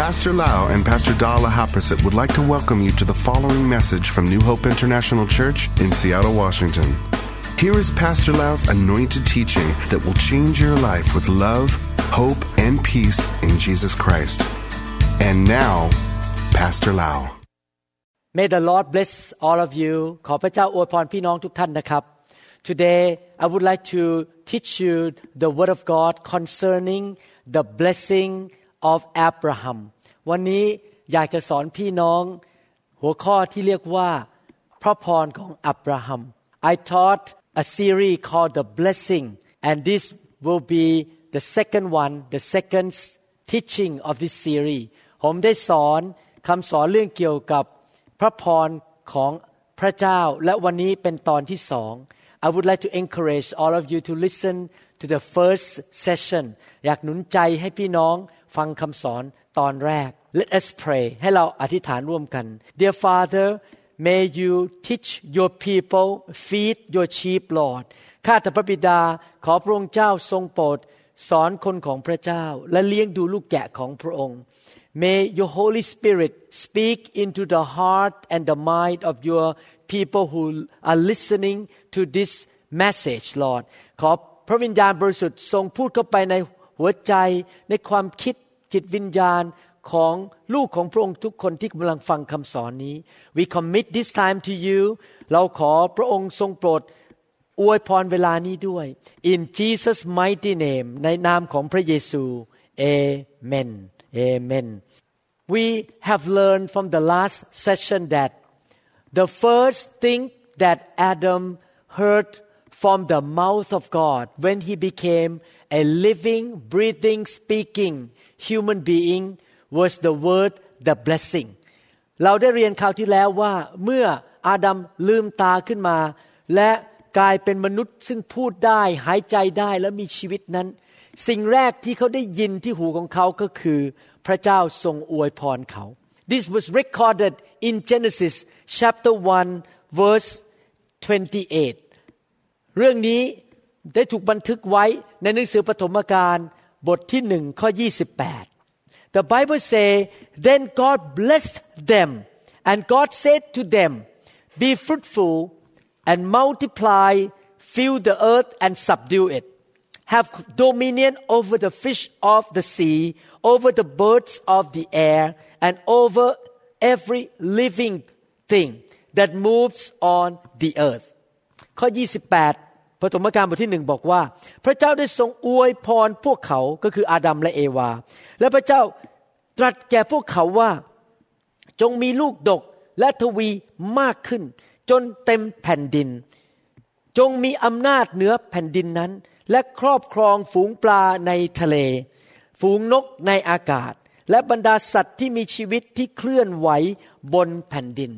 Pastor Lau and Pastor Dala Haprasit would like to welcome you to the following message from New Hope International Church in Seattle, Washington. Here is Pastor Lau's anointed teaching that will change your life with love, hope, and peace in Jesus Christ. And now, Pastor Lau. May the Lord bless all of you. ขอพระเจ้าอวยพรพี่น้องทุกท่านนะครับ Today I would like to teach you the word of God concerning the blessing of Abraham วันนี้อยากจะสอนพี่น้องหัวข้อที่เรียกว่าพระพรของอับราฮัม I taught a series called the blessing and this will be the second teaching of this series ผมได้สอนคำสอนเรื่องเกี่ยวกับพระพรของพระเจ้าและวันนี้เป็นตอนที่สอง I would like to encourage all of you to listen to the first session อยากหนุนใจให้พี่น้องฟังคำสอนตอนแรก Let us pray ให้เราอธิษฐานร่วมกัน Dear Father may you teach your people feed your sheep Lord ข้าแต่พระบิดาขอพระองค์เจ้าทรงโปรดสอนคนของพระเจ้าและเลี้ยงดูลูกแกะของพระองค์ May your Holy Spirit speak into the heart and the mind of your people who are listening to this message Lord ขอพระวิญญาณบริสุทธิ์ทรงพูดเข้าไปในหัวใจในความคิดจิตวิญญาณของลูกของพระองค์ทุกคนที่กำลังฟังคำสอนนี้ We commit this time to you เราขอพระองค์ทรงโปรดอวยพรเวลานี้ด้วย In Jesus mighty name ในนามของพระเยซู Amen Amen We have learned from the last session that the first thing that Adam heard from the mouth of God when he became a living, breathing, speaking human being was the word the blessing เราได้เรียนคราวที่แล้วว่าเมื่ออาดัมลืมตาขึ้นมาและกลายเป็นมนุษย์ซึ่งพูดได้หายใจได้และมีชีวิตนั้นสิ่งแรกที่เขาได้ยินที่หูของเขาก็คือพระเจ้าทรงอวยพรเขา This was recorded in Genesis chapter 1 verse 28 เรื่องนี้ได้ถูกบันทึกไว้ในหนังสือปฐมกาลบทที่1ข้อ28 The Bible say then God blessed them and God said to them be fruitful and multiply fill the earth and subdue it have dominion over the fish of the sea over the birds of the air and over every living thing that moves on the earth ข้อ28ปฐมกาลบทที่1บอกว่าพระเจ้าได้ทรงอวยพรพวกเขาก็คืออาดัมและเอวาและพระเจ้าตรัสแก่พวกเขาว่าจงมีลูกดกและทวีมากขึ้นจนเต็มแผ่นดินจงมีอำนาจเหนือแผ่นดินนั้นและครอบครองฝูงปลาในทะเลฝูงนกในอากาศและบรรดาสัตว์ที่มีชีวิตที่เคลื่อนไหวบนแผ่นดิน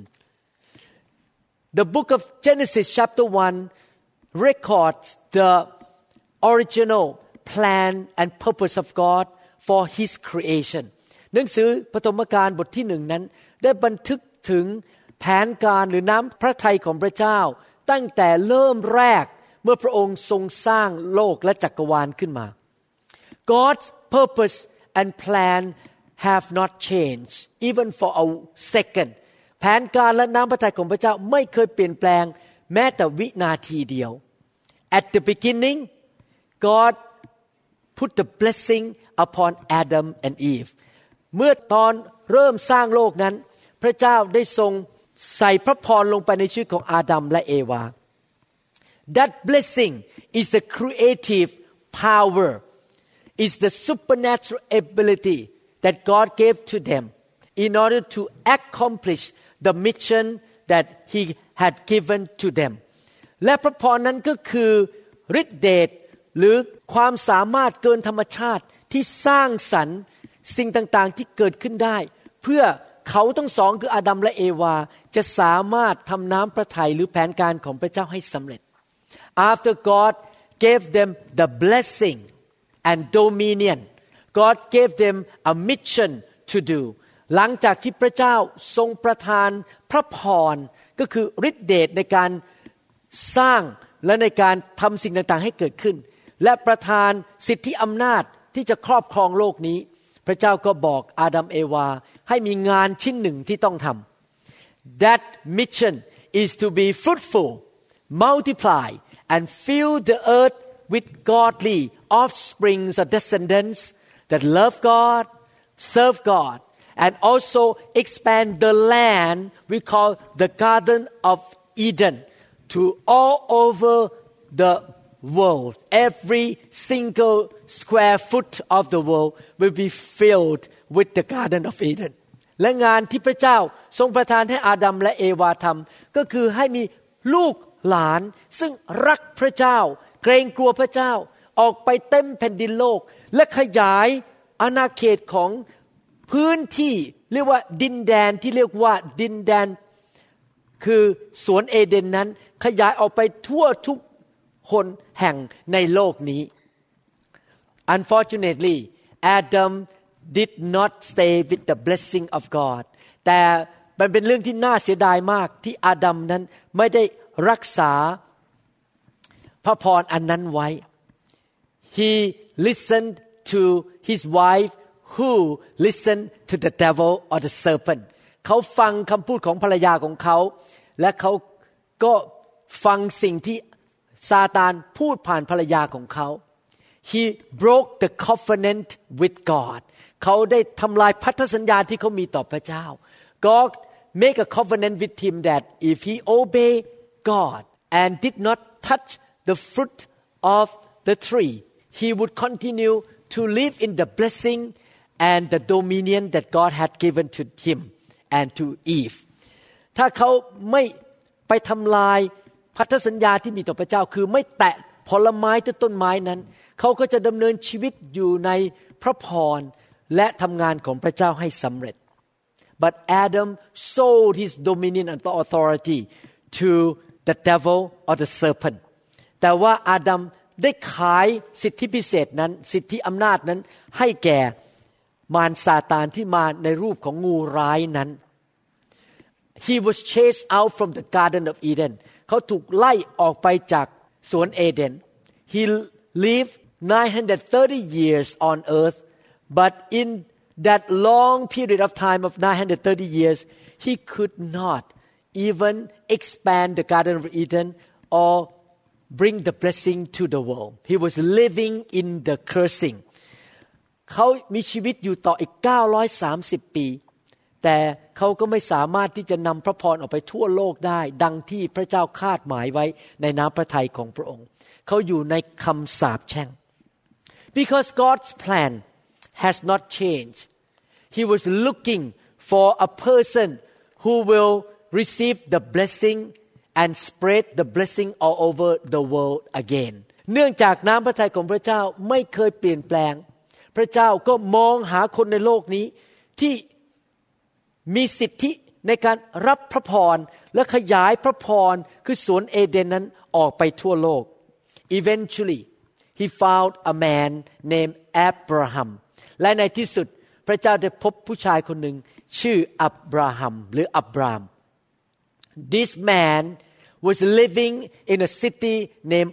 The book of Genesis chapter 1 records the original plan and purpose of God for his creation หนังสือปฐมกาลบทที่1นั้นได้บันทึกถึงแผนการหรือน้ำพระทัยของพระเจ้าตั้งแต่เริ่มแรกเมื่อพระองค์ทรงสร้างโลกและจักรวาลขึ้นมา God's purpose and plan have not changed even for a second แผนการและน้ำพระทัยของพระเจ้าไม่เคยเปลี่ยนแปลงแม้แต่วินาทีเดียว At the beginning God put the blessing upon Adam and Eve เมื่อตอนเริ่มสร้างโลกนั้นพระเจ้าได้ทรงใส่พระพรลงไปในชีวิตของอาดัมและเอวา That blessing is the creative power is the supernatural ability that God gave to them in order to accomplish the mission that he had given to them และพระพรนั้นก็คือฤทธิเดชหรือความสามารถเกินธรรมชาติที่สร้างสรรค์สิ่งต่างๆที่เกิดขึ้นได้เพื่อเขาทั้งสองคืออาดัมและเอวาจะสามารถทำน้ำพระทัยหรือแผนการของพระเจ้าให้สำเร็จ After God gave them the blessing and dominion God gave them a mission to do หลังจากที่พระเจ้าทรงประทานพระพรก็คือฤทธิเดชในการสร้างและในการทำสิ่งต่างๆให้เกิดขึ้นและประทานสิทธิอำนาจที่จะครอบครองโลกนี้พระเจ้าก็บอกอาดัมเอวาให้มีงานชิ้นหนึ่งที่ต้องทำ That mission is to be fruitful, multiply, and fill the earth with godly offsprings or descendants that love God, serve God, and also expand the land we call the Garden of Eden to all over the world. Every single square foot of the world will be filled with the Garden of Eden. และงานที่พระเจ้าทรงประทานให้อาดัมและเอวาทำก็คือให้มีลูกหลานซึ่งรักพระเจ้าเกรงกลัวพระเจ้าออกไปเต็มแผ่นดินโลกและขยายอาณาเขตของพื้นที่เรียกว่าดินแดนที่เรียกว่าดินแดนคือสวนเอเดนนั้นขยายออกไปทั่วทุกคนแห่งในโลกนี้ Unfortunately, Adam did not stay with the blessing of God แต่มันเป็นเรื่องที่น่าเสียดายมากที่อาดัมนั้นไม่ได้รักษาพระพรอันนั้นไว้ He listened to his wife who listened to the devil or the serpent เขาฟังคำพูดของภรรยาของเขาและเขาก็ฟังสิ่งที่ซาตานพูดผ่านภรรยาของเขา He broke the covenant with God เขาได้ทำลายพันธสัญญาที่เขามีต่อพระเจ้า God make a covenant with him that if he obey God and did not touch the fruit of the tree he would continue to live in the blessing and the dominion that God had given to him and to Eve ถ้าเขาไม่ไปทำลายพันธสัญญาที่มีต่อพระเจ้าคือไม่แตะผลไม้ต้นไม้นั้นเขาก็จะดำเนินชีวิตอยู่ในพระพรและทำงานของพระเจ้าให้สำเร็จ But Adam sold his dominion and authority to the devil or the serpent แต่ว่าอาดัมได้ขายสิทธิพิเศษนั้นสิทธิอำนาจนั้นให้แก่มารซาตานที่มาในรูปของงูร้ายนั้น He was chased out from the Garden of Eden เขาถูกไล่ออกไปจากสวนเอเดน He lived 930 years on earth but in that long period of time of 930 years he could not even expand the Garden of Eden or bring the blessing to the world he was living in the cursing เขามีชีวิตอยู่ต่ออีก930ปีแต่เขาก็ไม่สามารถที่จะนำพระพรออกไปทั่วโลกได้ดังที่พระเจ้าคาดหมายไว้ในน้ำพระทัยของพระองค์เขาอยู่ในคำสาปแช่ง Because God's plan has not changed He was looking for a person who will receive the blessing and spread the blessing all over the world again เนื่องจากน้ำพระทัยของพระเจ้าไม่เคยเปลี่ยนแปลงพระเจ้าก็มองหาคนในโลกนี้ที่มีสิทธิในการรับพระพรและขยายพระพรคือสวนเอเดนนั้นออกไปทั่วโลก Eventually he found a man named Abraham และในที่สุดพระเจ้าได้พบผู้ชายคนหนึ่งชื่ออับราฮัมหรืออับราม This man was living in a city named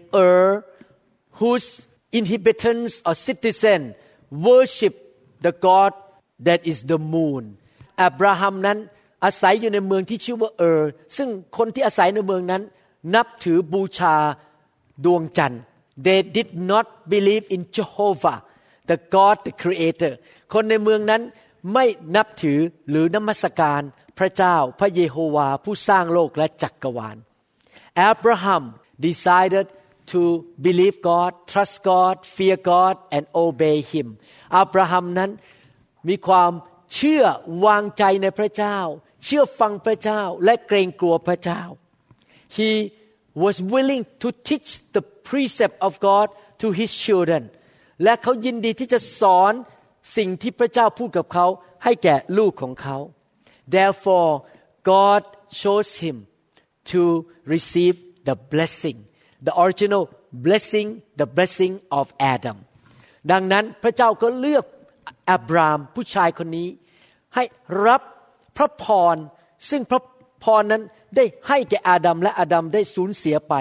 whose inhabitants or citizen worship the god that is the moon อับราฮัมนั้นอาศัยอยู่ในเมืองที่ชื่อว่าซึ่งคนที่อาศัยในเมืองนั้นนับถือบูชาดวงจันทร์ They did not believe in Jehovah the God the creator คนในเมืองนั้นไม่นับถือหรือนมัสการพระเจ้าพระเยโฮวาผู้สร้างโลกและจักรวาล Abraham decided to believe God trust God fear God and obey him อับราฮัมนั้นมีความเชื่อวางใจในพระเจ้าเชื่อฟังพระเจ้าและเกรงกลัวพระเจ้า He was willing to teach the precept of God to his children และเขายินดีที่จะสอนสิ่งที่พระเจ้าพูดกับเขาให้แก่ลูกของเขา Therefore God chose him to receive the blessing the original blessing the blessing of Adam ดังนั้นพระเจ้าก็เลือกอับรามผู้ชายคนนี้ให้รับพระพรซึ่งพระพรนั้นได้ให้แก่อาดัมและอาดัมได้สูญเสียไป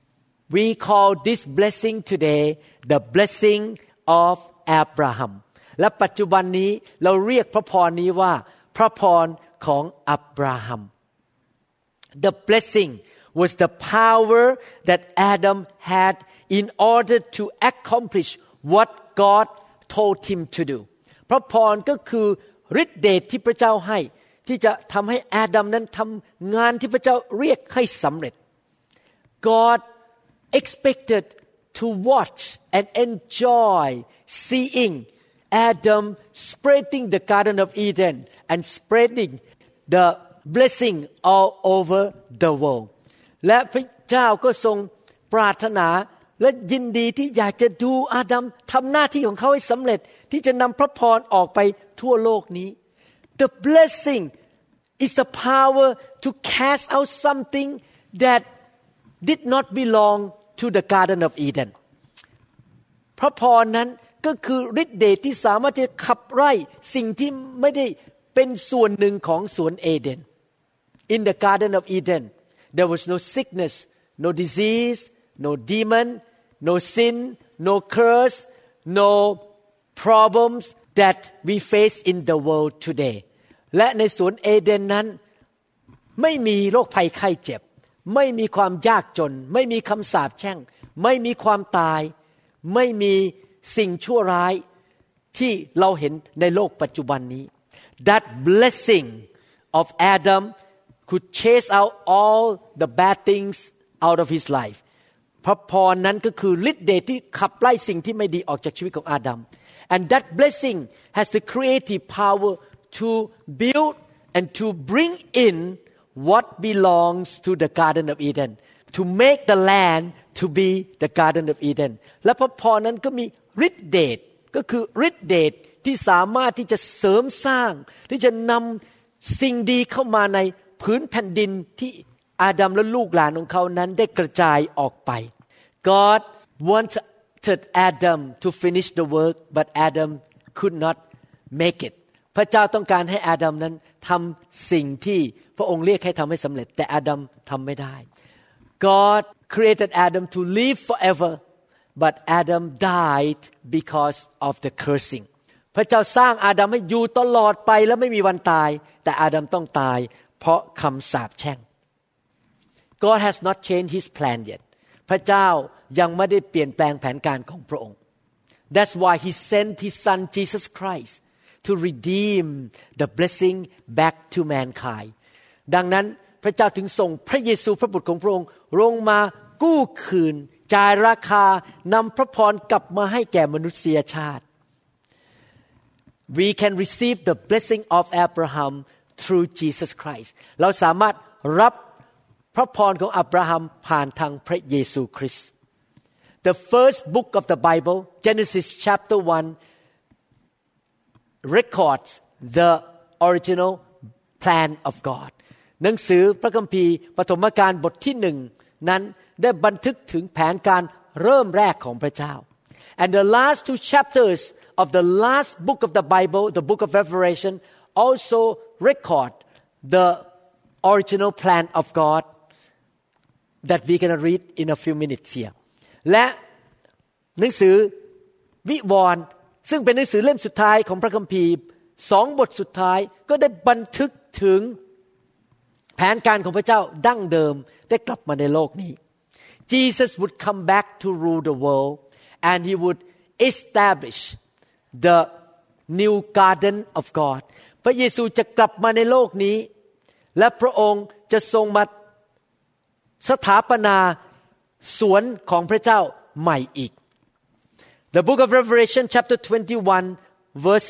We call this blessing today the blessing of Abraham และปัจจุบันนี้เราเรียกพระพรนี้ว่าพระพรของอับราฮัม The blessing was the power that Adam had in order to accomplish what God told him to do พระพรก็คือฤทธิเดชที่พระเจ้าให้ที่จะทำให้อาดัมนั้นทำงานที่พระเจ้าเรียกให้สำเร็จ God expected to watch and enjoy seeing Adam spreading the Garden of Eden and spreading the blessing all over the world และพระเจ้าก็ทรงปรารถนาและยินดีที่อยากจะดูอาดัมทำหน้าที่ของเขาให้สำเร็จที่จะนำพระพรออกไปทั่วโลกนี้ The blessing is the power to cast out something that did not belong to the Garden of Eden พระพรนั้นก็คือฤทธิ์เดชที่สามารถจะขับไล่สิ่งที่ไม่ได้เป็นส่วนหนึ่งของสวนเอเดน In the Garden of Eden there was no sickness no disease no demon no sin no curse no problems that we face in the world today และในสวนเอเดนนั้นไม่มีโรคภัยไข้เจ็บไม่มีความยากจนไม่มีคำสาปแช่งไม่มีความตายไม่มีสิ่งชั่วร้ายที่เราเห็นในโลกปัจจุบันนี้ That blessing of Adam could chase out all the bad things out of his life พระพรนั้นก็คือฤทธิ์เดชที่ขับไล่สิ่งที่ไม่ดีออกจากชีวิตของอาดัม And that blessing has the creative power to build and to bring in what belongs to the Garden of Eden to make the land to be the Garden of Eden และพระพรนั้นก็มีฤทธิ์เดชก็คือฤทธิ์เดชที่สามารถที่จะเสริมสร้างที่จะนำสิ่งดีเข้ามาในพื้นแผ่นดินที่อาดัมและลูกหลานของเขานั้นได้กระจายออกไป God wanted Adam to finish the work but Adam could not make it พระเจ้าต้องการให้อาดัมนั้นทำสิ่งที่พระองค์เรียกให้ทำให้สำเร็จแต่อาดัมทำไม่ได้ God created Adam to live forever but Adam died because of the cursing พระเจ้าสร้างอาดัมให้อยู่ตลอดไปและไม่มีวันตายแต่อาดัมต้องตายเพราะคำสาปแช่ง God has not changed his plan yet พระเจ้ายังไม่ได้เปลี่ยนแปลงแผนการของพระองค์ That's why he sent his son Jesus Christ to redeem the blessing back to mankind ดังนั้นพระเจ้าถึงส่งพระเยซูพระบุตรของพระองค์ลงมากู้คืนจ่ายราคานำพระพรกลับมาให้แก่มนุษยชาติ We can receive the blessing of Abraham through Jesus Christ เราสามารถรับพระพรของอับราฮัมผ่านทางพระเยซูคริสต์ The first book of the Bible Genesis chapter 1 records the original plan of God หนังสือพระคัมภีร์ปฐมกาลบทที่1นั้นได้บันทึกถึงแผนการเริ่มแรกของพระเจ้า And the last two chapters of the last book of the Bible the book of Revelation also record the original plan of God that we can read in a few minutes here และหนังสือวิวรณ์ซึ่งเป็นหนังสือเล่มสุดท้ายของพระคัมภีร์2บทสุดท้ายก็ได้บันทึกถึงแผนการของพระเจ้าดั้งเดิมได้กลับมาในโลกนี้ Jesus would come back to rule the world and he would establish the new garden of God พระเยซูจะกลับมาในโลกนี้และพระองค์จะทรงมาสถาปนาสวนของพระเจ้าใหม่อีก The book of Revelation chapter 21 verse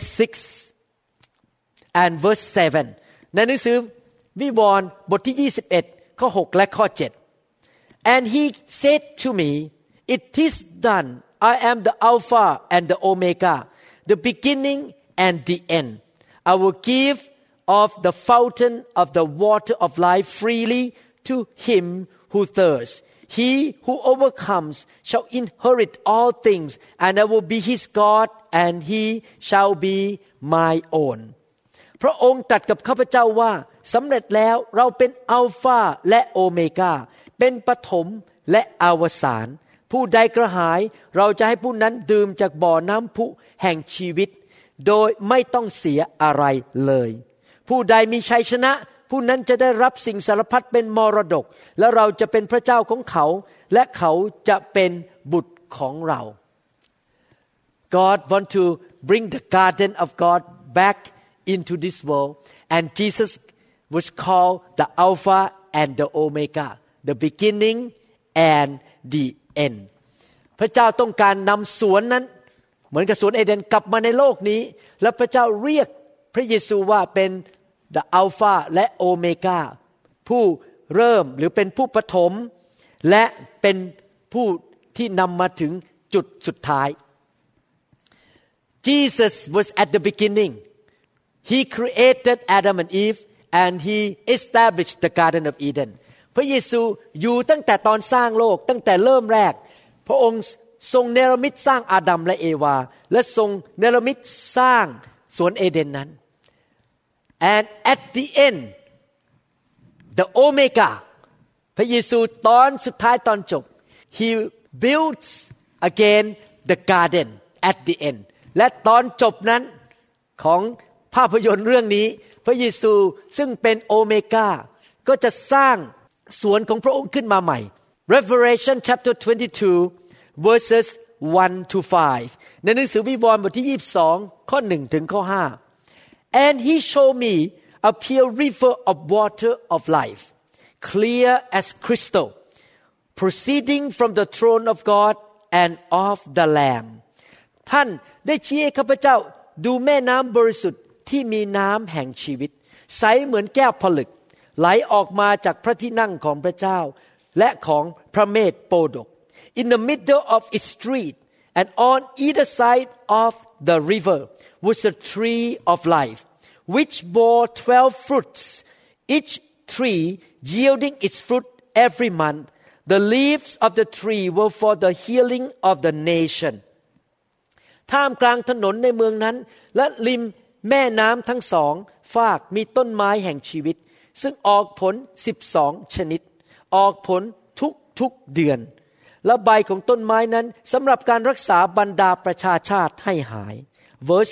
6 and verse 7 ในหนังสือวิวรณ์บทที่21ข้อ6และข้อ7 And he said to me it is done I am the Alpha and the Omega the beginning and the end I will give of the fountain of the water of life freely to him who thirsts he who overcomes shall inherit all things and I will be his God and he shall be my own พระองค์ตรัสกับข้าพเจ้าว่าสำเร็จแล้วเราเป็นอัลฟาและโอเมกาเป็นปฐมและอวสานผู้ใดกระหายเราจะให้ผู้นั้นดื่มจากบ่อน้ำพุแห่งชีวิตโดยไม่ต้องเสียอะไรเลยผู้ใดมีชัยชนะผู้นั้นจะได้รับสิ่งสารพัดเป็นมรดกและเราจะเป็นพระเจ้าของเขาและเขาจะเป็นบุตรของเรา God want to bring the garden of God back into this world and Jesus was called the Alpha and the Omega the beginning and the end พระเจ้าต้องการนำสวนนั้นเหมือนกับสวนเอเดนกลับมาในโลกนี้และพระเจ้าเรียกพระเยซูว่าเป็น the Alpha และ Omega ผู้เริ่มหรือเป็นผู้ปฐมและเป็นผู้ที่นำมาถึงจุดสุดท้าย Jesus was at the beginning He created Adam and Eve and He established the Garden of Eden พระเยซูอยู่ตั้งแต่ตอนสร้างโลกตั้งแต่เริ่มแรกพระองค์ทรงเนรมิตสร้างอาดัมและเอวาและทรงเนรมิตสร้างสวนเอเดนนั้น and at the end the Omega พระเยซูตอนสุดท้ายตอนจบ He builds again the garden at the end และตอนจบนั้นของภาพยนตร์เรื่องนี้พระเยซูซึ่งเป็นโอเมก้าก็จะสร้างสวนของพระองค์ขึ้นมาใหม่ Revelation chapter 22 verses 1 to 5 ในหนังสือวิวรณ์บทที่22ข้อ1ถึงข้อ5 And he showed me a pure river of water of life clear as crystal proceeding from the throne of God and of the Lamb ท่านได้ชี้ให้ข้าพเจ้าดูแม่น้ำบริสุทธิ์ที่มีน้ำแห่งชีวิตใสเหมือนแก้วผลึกไหลออกมาจากพระที่นั่งของพระเจ้าและของพระเมธโปดก In the middle of its street and on either side of the river was a tree of life which bore 12 fruits each tree yielding its fruit every month the leaves of the tree were for the healing of the nation ท่ามกลางถนนในเมืองนั้นและริมแม่น้ำทั้งสองฝากมีต้นไม้แห่งชีวิตซึ่งออกผล12ชนิดออกผลทุกเดือนและใบของต้นไม้นั้นสำหรับการรักษาบรรดาประชาชาติให้หาย verse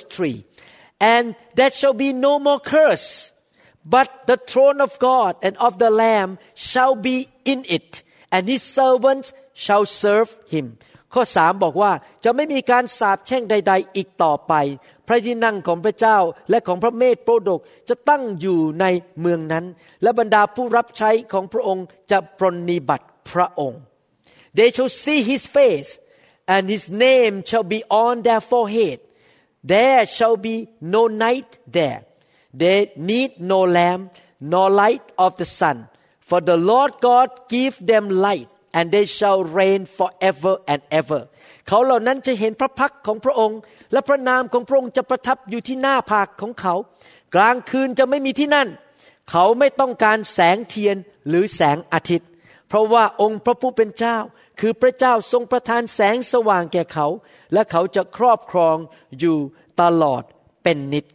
3 and there shall be no more curse but the throne of God and of the Lamb shall be in it and his servants shall serve him ข้อ3บอกว่าจะไม่มีการสาปแช่งใดๆอีกต่อไปพระที่นั่งของพระเจ้าและของพระเมธโปรดกจะตั้งอยู่ในเมืองนั้นและบรรดาผู้รับใช้ของพระองค์จะปรนนิบัติพระองค์ They shall see his face and his name shall be on their forehead there shall be no night there they need no lamp nor light of the sun for the Lord God give them light and they shall reign forever and ever เขาเหล่านั้นจะเห็นพระพักตร์ของพระองค์และพระนามของพระองค์จะประทับอยู่ที่หน้าผากของเขากลางคืนจะไม่มีที่นั่นเขาไม่ต้องการแสงเทียนหรือแสงอาทิตย์เพราะว่าองค์พระผู้เป็นเจ้าคือพระเจ้าทรงประทานแสงสว่างแก่เขาและเขาจะครอบครองอยู่ตลอดเป็นนิจ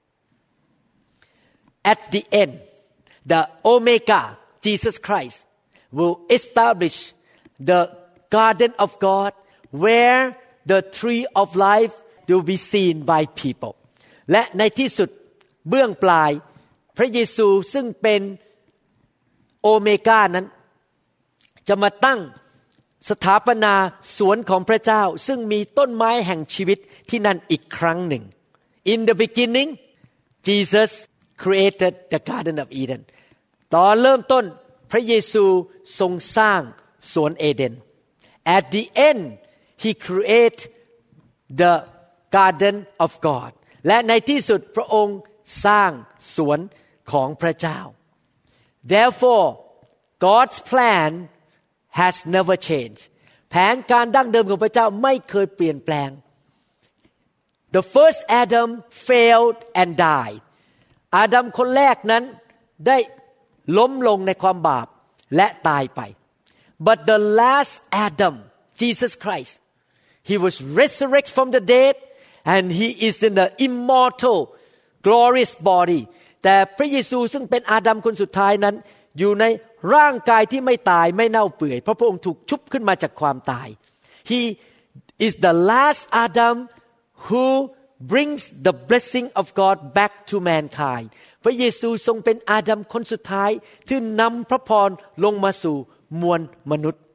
At the end the Omega Jesus Christ will establish the garden of God where the tree of life will be seen by people และในที่สุดเบื้องปลายพระเยซูซึ่งเป็นโอเมก้านั้นจะมาตั้งสถาปนาสวนของพระเจ้าซึ่งมีต้นไม้แห่งชีวิตที่นั่นอีกครั้งหนึ่ง In the beginning Jesus created the Garden of Eden ตอนเริ่มต้นพระเยซูทรงสร้างสวนเอเดน At the end He created the Garden of God และในที่สุดพระองค์สร้างสวนของพระเจ้า Therefore God's plan has never changed แผนการดั้งเดิมของพระเจ้าไม่เคยเปลี่ยนแปลง The first Adam failed and died อาดัมคนแรกนั้นได้ล้มลงในความบาปและตายไป But the last Adam Jesus Christ he was resurrected from the dead and he is in the immortal glorious body แต่พระเยซูซึ่งเป็นอาดัมคนสุดท้ายนั้นอยู่ในร่างกายที่ไม่ตายไม่เน่าเปื่อยเพราะพระองค์ถูกชุบขึ้นมาจากความตาย He is the last Adam who brings the blessing of God back to mankind พระเยซูทรงเป็นอาดัมคนสุดท้ายที่นำพระพรลงมาสู่มวลมนุษย์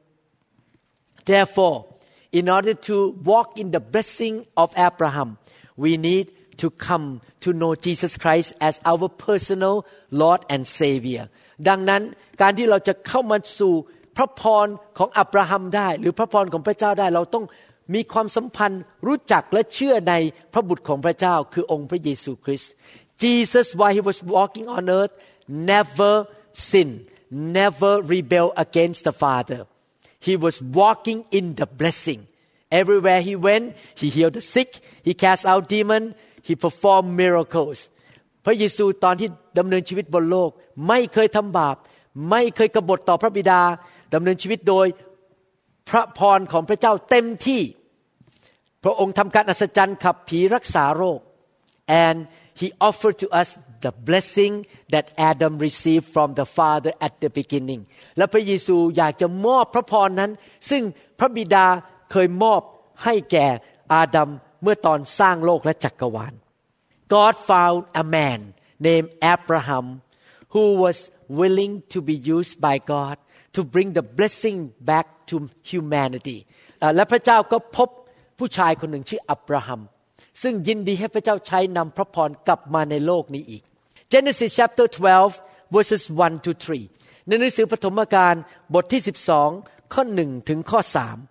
Therefore in order to walk in the blessing of Abraham we need to come to know Jesus Christ as our personal Lord and Savior ดังนั้นการที่เราจะเข้ามาสู่พระพรของอับราฮัมได้หรือพระพรของพระเจ้าได้เราต้องมีความสัมพันธ์รู้จักและเชื่อในพระบุตรของพระเจ้าคือองค์พระเยซูคริสต์ Jesus while he was walking on earth never sinned never rebelled against the Father he was walking in the blessing everywhere he went he healed the sick he cast out demons he performed miracles พระเยซูตอนที่ดำเนินชีวิตบนโลกไม่เคยทำบาปไม่เคยกบฏต่อพระบิดาดำเนินชีวิตโดยพระพรของพระเจ้าเต็มที่พระองค์ทำการอัศจรรย์ขับผีรักษาโรค and he offered to us the blessing that Adam received from the Father at the beginning และพระเยซูอยากจะมอบพระพรนั้นซึ่งพระบิดาเคยมอบให้แก่อาดัมเมื่อตอนสร้างโลกและจักรวาล God found a man named Abraham who was willing to be used by God to bring the blessing back to humanity และพระเจ้าก็พบผู้ชายคนหนึ่งชื่ออับราฮัมซึ่งยินดีให้พระเจ้าใช้นำพระพรกลับมาในโลกนี้อีก Genesis chapter 12 verses 1 to 3 ในหนังสือปฐมกาลบทที่12ข้อ1ถึงข้อ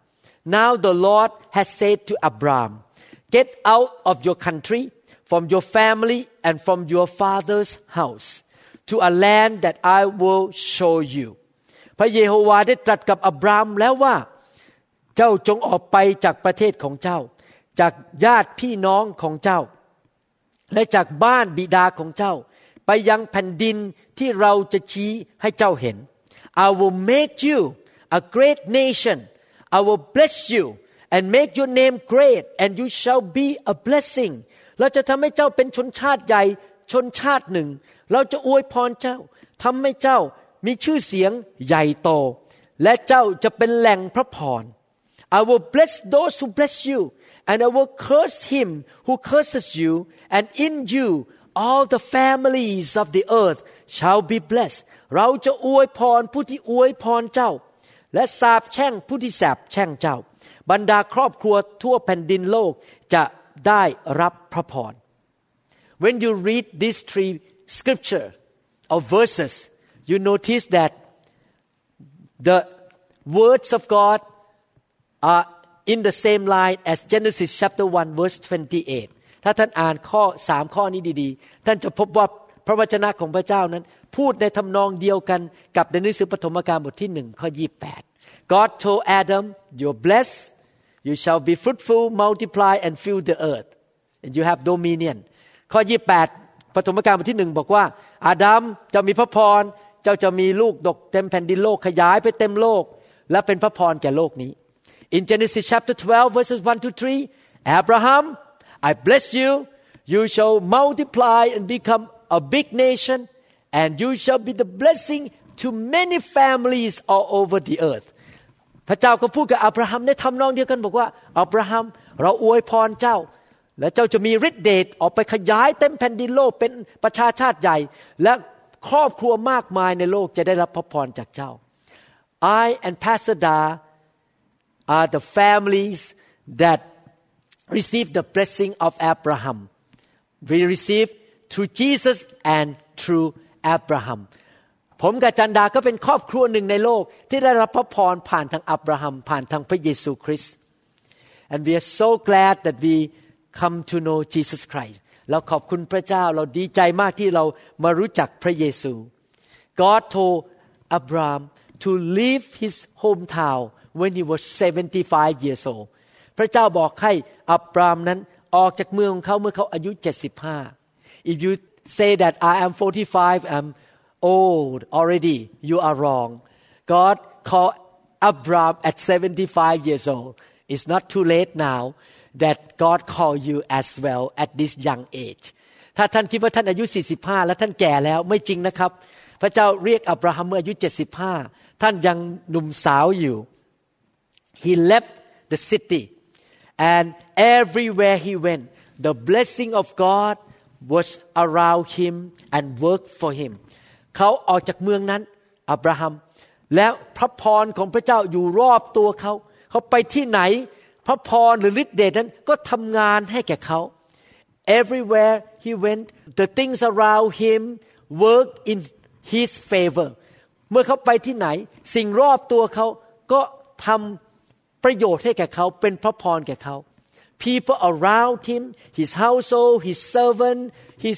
3 Now the Lord has said to Abram Get out of your country from your family and from your father's house to a land that I will show you พระเยโฮวาห์ได้ตรัสกับอับรามแล้วว่าเจ้าจงออกไปจากประเทศของเจ้าจากญาติพี่น้องของเจ้าและจากบ้านบิดาของเจ้าไปยังแผ่นดินที่เราจะชี้ให้เจ้าเห็น I will make you a great nation I will bless you and make your name great and you shall be a blessing เราจะทำให้เจ้าเป็นชนชาติใหญ่ชนชาติหนึ่งเราจะอวยพรเจ้าทำให้เจ้ามีชื่อเสียงใหญ่โตและเจ้าจะเป็นแหล่งพระพรI will bless those who bless you and I will curse him who curses you and in you all the families of the earth shall be blessed เราจะอวยพรผู้ที่อวยพรเจ้าและสาปแช่งผู้ที่สาปแช่งเจ้าบรรดาครอบครัวทั่วแผ่นดินโลกจะได้รับพระพร When you read these three scripture or verses you notice that the words of God are in the same line as Genesis chapter 1 verse 28 ถ้าท่านอ่านข้อ3ข้อนี้ดีๆท่านจะพบว่าพระวจนะของพระเจ้านั้นพูดในทำนองเดียวกันกับในหนังสือปฐมกาลบทที่1ข้อ28 God told Adam you're blessed you shall be fruitful multiply and fill the earth and you have dominion ข้อ28ปฐมกาลบทที่1บอกว่าอาดัมเจ้ามีพระพรเจ้าจะมีลูกดกเต็มแผ่นดินโลกขยายไปเต็มโลกและเป็นพระพรแก่โลกนี้In Genesis chapter 12 verses 1 to 3 Abraham I bless you you shall multiply and become a big nation and you shall be the blessing to many families all over the earth พระเจ้าก็พูดกับอับราฮัมในทำนองเดียวกันบอกว่าอับราฮัมเราอวยพรเจ้าและเจ้าจะมีฤทธิ์เดชออกไปขยายเต็มแผ่นดินโลกเป็นประชาชาติใหญ่และครอบครัวมากมายในโลกจะได้รับพระพรจากเจ้า I and Pastor Da are the families that receive the blessing of Abraham. We receive through Jesus and through Abraham. ผมกับจันดาก็เป็นครอบครัวหนึ่งในโลกที่ได้รับพระพรผ่านทางอับราฮัมผ่านทางพระเยซูคริสต์ And we are so glad that we come to know Jesus Christ. เราขอบคุณพระเจ้าเราดีใจมากที่เรามารู้จักพระเยซู God told Abraham to leave his hometown.When he was 75 years old พระเจ้าบอกให้อับรามนั้นออกจากเมืองของเขาเมื่อเขาอายุ75 If you say that I am 45 I'm old already you are wrong God called Abram at 75 years old It's not too late now that God called you as well at this young age ถ้าท่านคิดว่าท่านอายุ45และท่านแก่แล้วไม่จริงนะครับพระเจ้าเรียกอับราฮัมเมื่ออายุ75ท่านยังหนุ่มสาวอยู่He left the city and everywhere he went the blessing of God was around him and worked for him เขาออกจากเมืองนั้นอับราฮัมแล้วพระพรของพระเจ้าอยู่รอบตัวเขาไปที่ไหนพระพรหรือฤทธิ์เดชนั้นก็ทำงานให้แก่เขา everywhere he went the things around him worked in his favor เมื่อเขาไปที่ไหนสิ่งรอบตัวเขาก็ทำประโยชน์ให้แก่เขาเป็นพระพรแก่เขา people around him his household his servant his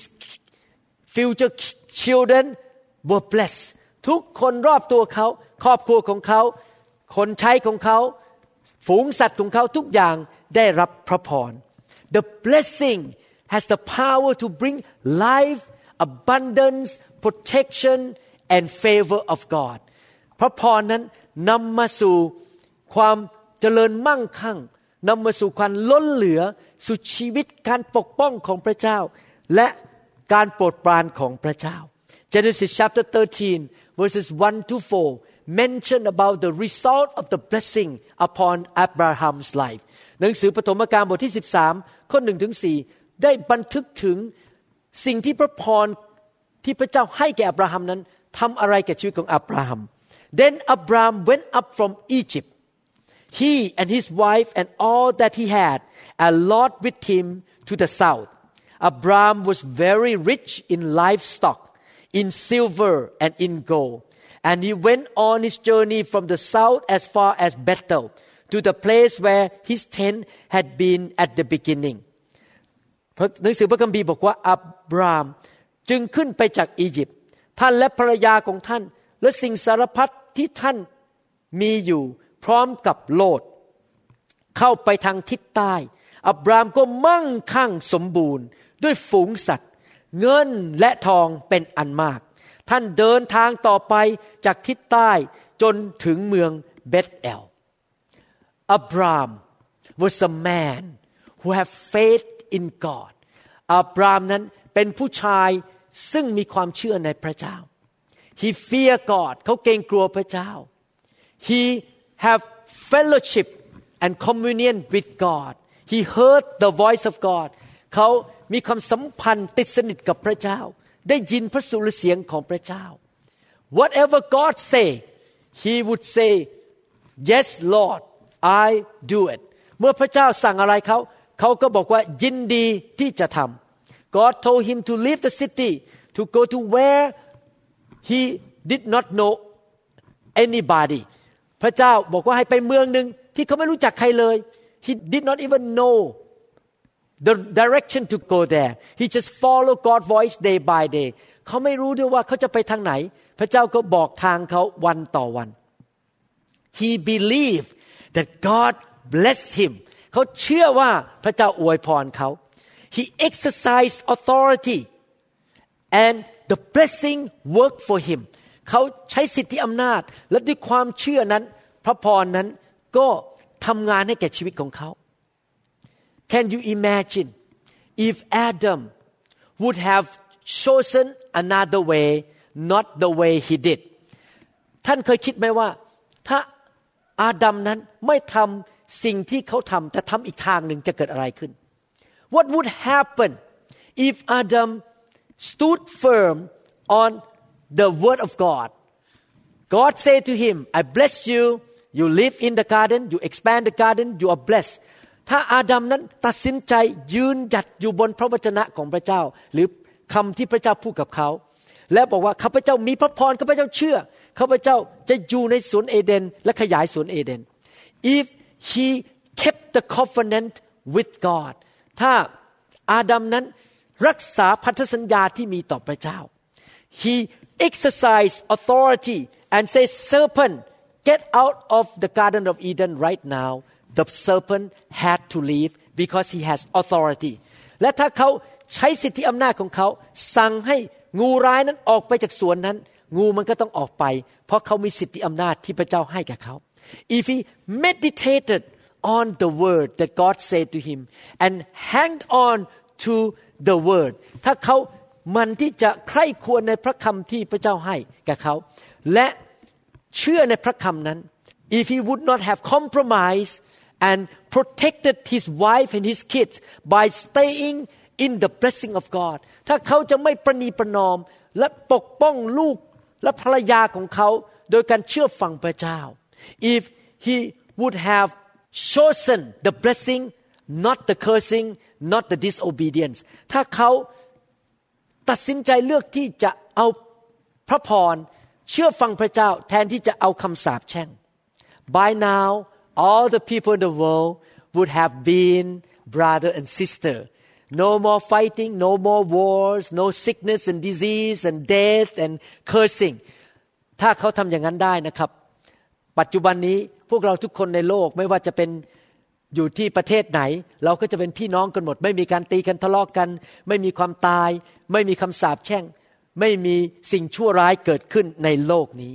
future children were blessed ทุกคนรอบตัวเขาครอบครัวของเขาคนใช้ของเขาฝูงสัตว์ของเขาทุกอย่างได้รับพระพร The blessing has the power to bring life abundance protection and favor of God พระพรนั้นนำมาสู่ความเจริญมั่งคั่งนำมาสู่ความล้นเหลือสู่ชีวิตการปกป้องของพระเจ้าและการโปรดปรานของพระเจ้า Genesis chapter 13 verses 1 to 4 mention about the result of the blessing upon Abraham's life หนังสือปฐมกาลบทที่13ข้อ1ถึง4ได้บันทึกถึงสิ่งที่พระพรที่พระเจ้าให้แก่อับราฮัมนั้นทำอะไรกับชีวิตของอับราฮัม Then Abraham went up from Egypt he and his wife and all that he had and Lot with him to the south Abraham was very rich in livestock in silver and in gold and he went on his journey from the south as far as Bethel to the place where his tent had been at the beginning หนังสือพระคัมภีร์บอกว่าอับรามจึงขึ้นไปจากอียิปต์ท่านและภรรยาของท่านและสิ่งสารพัดที่ท่านมีอยู่พร้อมกับโลดเข้าไปทางทิศใต้อับรามก็มั่งคั่งสมบูรณ์ด้วยฝูงสัตว์เงินและทองเป็นอันมากท่านเดินทางต่อไปจากทิศใต้จนถึงเมืองเบธเอล Abraham was a man who had faith in God อับรามนั้นเป็นผู้ชายซึ่งมีความเชื่อในพระเจ้า He feared God เขาเกรงกลัวพระเจ้า He have fellowship and communion with God He heard the voice of God เขามีความสัมพันธ์ติดสนิทกับพระเจ้าได้ยินพระสุรเสียงของพระเจ้า Whatever God say He would say Yes Lord I do it เมื่อพระเจ้าสั่งอะไรเขาก็บอกว่ายินดีที่จะทำ God told him to leave the city to go to where he did not know anybody พระเจ้าบอกว่าให้ไปเมืองนึงที่เขาไม่รู้จักใครเลย He did not even know the direction to go there he just follow God's voice day by day เขาไม่รู้ด้วยว่าเขาจะไปทางไหนพระเจ้าก็บอกทางเขาวันต่อวัน he believed that God blessed him เขาเชื่อว่าพระเจ้าอวยพรเขา he exercised authority and the blessing worked for him เขาใช้สิทธิอำนาจและด้วยความเชื่อนั้นพระพรนั้นก็ทำงานให้แก่ชีวิตของเขาCan you imagine if Adam would have chosen another way, not the way he did? ท่านเคยคิดไหมว่าถ้าอาดัมนั้นไม่ทำสิ่งที่เขาทำแต่ทำอีกทางหนึ่งจะเกิดอะไรขึ้น What would happen if Adam stood firm on the word of God? God said to him, I bless you, you live in the garden, you expand the garden, you are blessed.ถ้าอาดัมนั้นตัดสินใจยืนหยัดอยู่บนพระวจนะของพระเจ้าหรือคำที่พระเจ้าพูดกับเขาและบอกว่าข้าพเจ้ามีพระพรข้าพเจ้าเชื่อข้าพเจ้าจะอยู่ในสวนเอเดนและขยายสวนเอเดน If he kept the covenant with God ถ้าอาดัมนั้นรักษาพันธสัญญาที่มีต่อพระเจ้า He exercised authority and said serpent get out of the garden of Eden right now.The serpent had to leave because he has authority และถ้าเขาใช้สิทธิอำนาจของเขาสั่งให้งูร้ายนั้นออกไปจากสวนนั้นงูมันก็ต้องออกไปเพราะเขามีสิทธิอำนาจที่พระเจ้าให้แก่เขา If he meditated on the word that God said to him and hanged on to the word ถ้าเขามันที่จะใคร่ครวญในพระคำที่พระเจ้าให้แก่เขาและเชื่อในพระคำนั้น If he would not have compromised and protected his wife and his kids by staying in the blessing of God ถ้าเขาจะไม่ประนีประนอมและปกป้องลูกและภรรยาของเขาโดยการเชื่อฟังพระเจ้า if he would have chosen the blessing not the cursing not the disobedience ถ้าเขาตัดสินใจเลือกที่จะเอาพระพรเชื่อฟังพระเจ้าแทนที่จะเอาคำสาปแช่ง by now all the people in the world would have been brother and sister no more fighting no more wars no sickness and disease and death and cursing ถ้าเขาทำอย่างนั้นได้นะครับปัจจุบันนี้พวกเราทุกคนในโลกไม่ว่าจะเป็นอยู่ที่ประเทศไหนเราก็จะเป็นพี่น้องกันหมดไม่มีการตีกันทะเลาะกันไม่มีความตายไม่มีคำสาปแช่งไม่มีสิ่งชั่วร้ายเกิดขึ้นในโลกนี้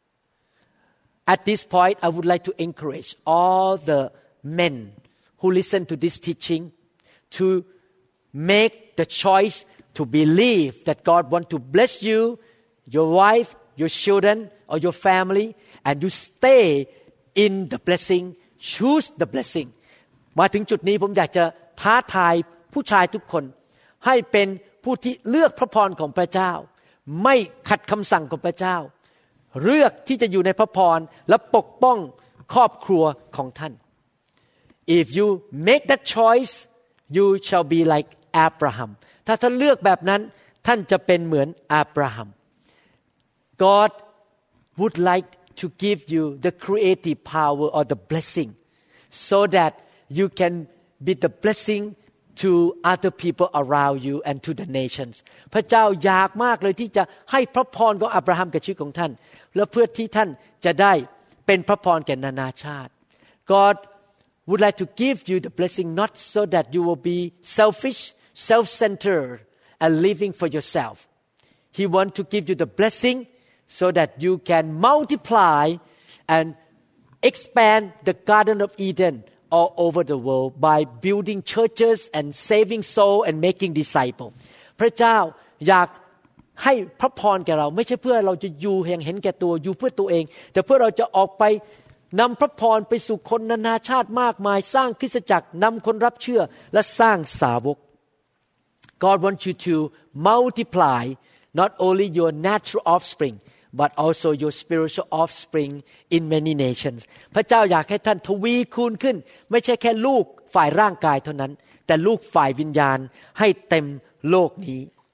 At this point I would like to encourage all the men who listen to this teaching to make the choice to believe that God want to bless you your wife your children or your family and you stay in the blessing choose the blessing มาถึงจุดนี้ผมอยากจะท้าทายผู้ชายทุกคนให้เป็นผู้ที่เลือกพระพรของพระเจ้าไม่ขัดคำสั่งของพระเจ้าเลือกที่จะอยู่ในพระพรและปกป้องครอบครัวของท่าน If you make that choice you shall be like Abraham ถ้าท่านเลือกแบบนั้นท่านจะเป็นเหมือนอับราฮัม God would like to give you the creative power or the blessing so that you can be the blessing to other people around you and to the nations พระเจ้าอยากมากเลยที่จะให้พระพรของอับราฮัมกับชีวิตของท่านและเพื่อที่ท่านจะได้เป็นพระพรแก่นานาชาติ God would like to give you the blessing not so that you will be selfish self-centered and living for yourself He wants to give you the blessing so that you can multiply and expand the Garden of Eden all over the world by building churches and saving soul and making disciples พระเจ้าอยากให้พระพรแก่เราไม่ใช่เพื่อเราจะอยู่เห็นแก่ตัวอยู่เพื่อตัวเองแต่เพื่อเราจะออกไปนำพระพรไปสู่คนนานาชาติมากมายสร้างคริสตจักรนำคนรับเชื่อและสร้างสาวก God wants you to multiply not only your natural offspring but also your spiritual offspring in many nations พระเจ้าอยากให้ท่านทวีคูณขึ้นไม่ใช่แค่ลูกฝ่ายร่างกายเท่านั้นแต่ลูกฝ่ายวิญญาณให้เต็มโลกนี้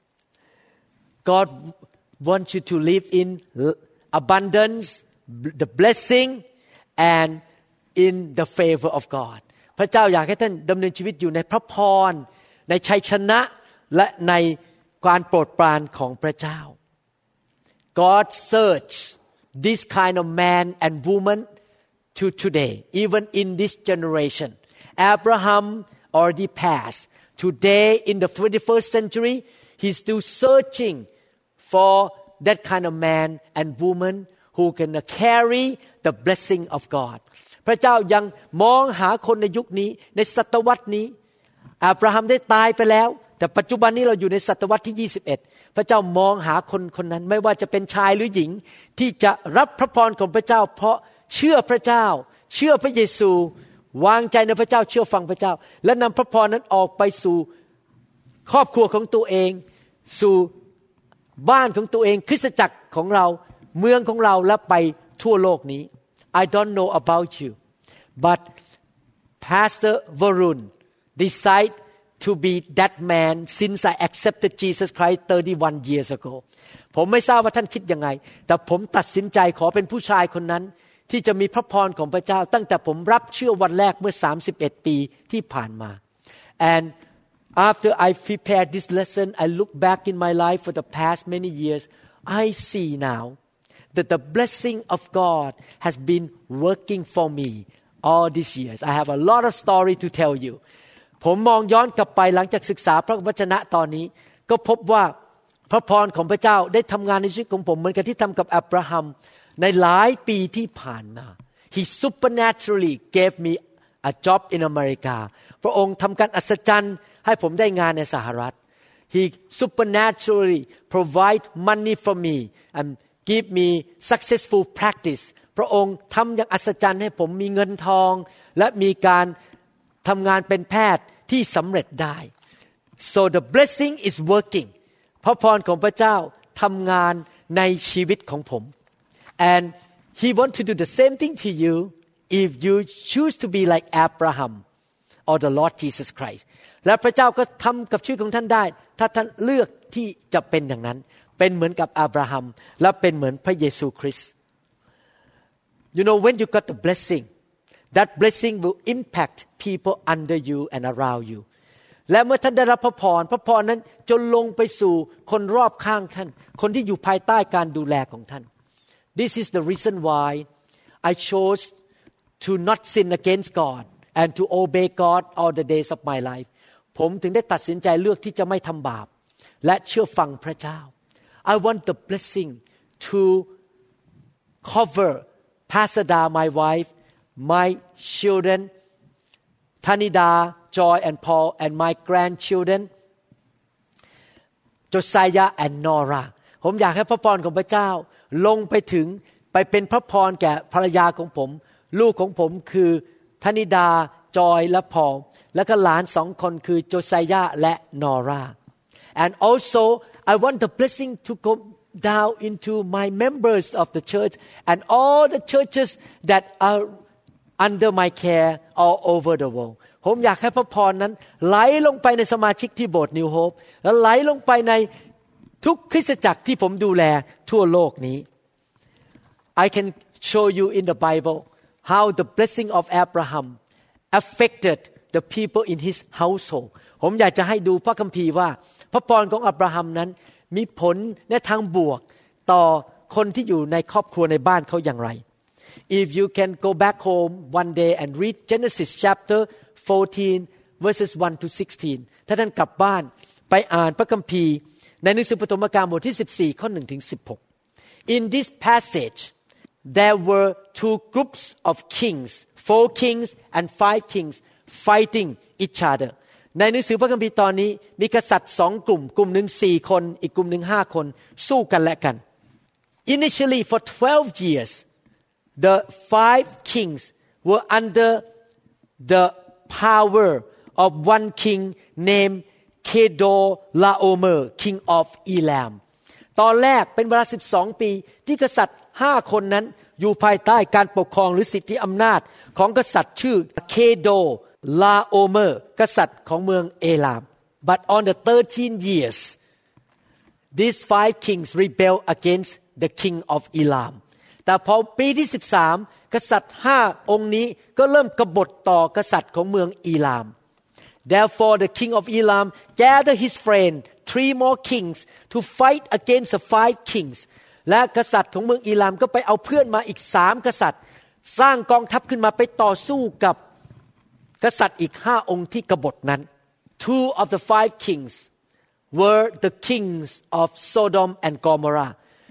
God wants you to live in abundance the blessing and in the favor of God พระเจ้าอยากให้ท่านดำเนินชีวิตอยู่ในพระพรในชัยชนะและในการโปรดปรานของพระเจ้าGod search this kind of man and woman to today, even in this generation. Abraham already passed. Today, in the 21st century, he's still searching for that kind of man and woman who can carry the blessing of God. พระเจ้ายังมองหาคนในยุคนี้ในศตวรรษนี้อับราฮัมได้ตายไปแล้วแต่ปัจจุบันนี้เราอยู่ในศตวรรษที่21พระเจ้ามองหาคนคนนั้นไม่ว่าจะเป็นชายหรือหญิงที่จะรับพระพรของพระเจ้าเพราะเชื่อพระเจ้าเชื่อพระเยซูวางใจในพระเจ้าเชื่อฟังพระเจ้าและนำพระพรนั้นออกไปสู่ครอบครัวของตัวเองสู่บ้านของตัวเองคริสตจักรของเราเมืองของเราและไปทั่วโลกนี้ I don't know about you but Pastor Varun decide to be that man since I accepted Jesus Christ 31 years ago ผมไม่ทราบว่าท่านคิดยังไงแต่ผมตัดสินใจขอเป็นผู้ชายคนนั้นที่จะมีพระพรของพระเจ้าตั้งแต่ผมรับเชื่อวันแรกเมื่อ31ปีที่ผ่านมา and after I prepared this lesson I look back in my life for the past many years I see now that the blessing of God has been working for me all these years I have a lot of story to tell youผมมองย้อนกลับไปหลังจากศึกษาพระวจนะตอนนี้ก็พบว่าพระพรของพระเจ้าได้ทำงานในชีวิตของผมเหมือนกับที่ทำกับอับราฮัมในหลายปีที่ผ่านมา He supernaturally gave me a job in America พระองค์ทำการอัศจรรย์ให้ผมได้งานในสหรัฐ He supernaturally provide money for me and give me successful practice พระองค์ทำอย่างอัศจรรย์ให้ผมมีเงินทองและมีการทำงานเป็นแพทย์ที่สำเร็จได้ so the blessing is working พระพรของพระเจ้าทำงานในชีวิตของผม and he want to do the same thing to you if you choose to be like Abraham or the Lord Jesus Christ และพระเจ้าก็ทำกับชีวิตของท่านได้ถ้าท่านเลือกที่จะเป็นอย่างนั้นเป็นเหมือนกับอับราฮัมและเป็นเหมือนพระเยซูคริสต์ You know when you got the blessing that blessing will impact people under you and around you และเมื่อท่านได้รับพระพรนั้นจะลงไปสู่คนรอบข้างท่านคนที่อยู่ภายใต้การดูแลของท่าน This is the reason why I chose to not sin against God and to obey God all the days of my life ผมถึงได้ตัดสินใจเลือกที่จะไม่ทำบาปและเชื่อฟังพระเจ้า I want the blessing to cover Pastor Da, my wife, my children, Tanida, Joy and Paul, and my grandchildren, Josiah and Nora. ผมอยากให้พระพรของพระเจ้าลงไปเป็นพระพรแก่ภรรยาของผมลูกของผมคือธนิดาจอยและพอลและก็หลาน2 คนคือโจไซยาและนอรา and also I want the blessing to go down into my members of the church and all the churches that are under my care all over the world ผมอยากให้พระพรนั้นไหลลงไปในสมาชิกที่โบสถ์ New Hope และไหลลงไปในทุกคริสตจักรที่ผมดูแลทั่วโลกนี้ I can show you in the Bible how the blessing of Abraham affected the people in his household ผมอยากจะให้ดูพระคัมภีร์ว่าพระพรของอับราฮัมนั้นมีผลในทางบวกต่อคนที่อยู่ในครอบครัวในบ้านเขาอย่างไร If you can go back home one day and read Genesis chapter 14 verses 1 to 16 ถ้าท่านกลับบ้านไปอ่านพระคัมภีร์ในหนังสือปฐมกาลบทที่14ข้อ1ถึง16 In this passage there were 2 groups of kings 4 kings and 5 kings fighting each other ในหนังสือพระคัมภีร์ตอนนี้มีกษัตริย์2 กลุ่มหนึ่ง4 คนอีกกลุ่มหนึ่ง5 คนสู้กันและกัน Initially for 12 years the 5 kings were under the power of one king named Kedorlaomer king of Elam ตอนแรกเป็นเวลา12 ปีที่กษัตริย์5 คนนั้นอยู่ภายใต้การปกครองหรือสิทธิอำนาจของกษัตริย์ชื่อเคโดลาโอเมอร์กษัตริย์ของเมืองเอลาม but on the 13 years these 5 kings rebelled against the king of Elam แต่พอปีที่13กษัตริย์5 องค์นี้ก็เริ่มกบฏต่อกษัตริย์ของเมืองอีลาม therefore the king of Elam gathered his friend 3 more kings to fight against the 5 kingsและกษัตริย์ของเมืองอีลามก็ไปเอาเพื่อนมาอีก3 กษัตริย์สร้างกองทัพขึ้นมาไปต่อสู้กับกษัตริย์อีก5 องค์ที่กบฏนั้น 2 of the 5 kings were the kings of Sodom and Gomorrah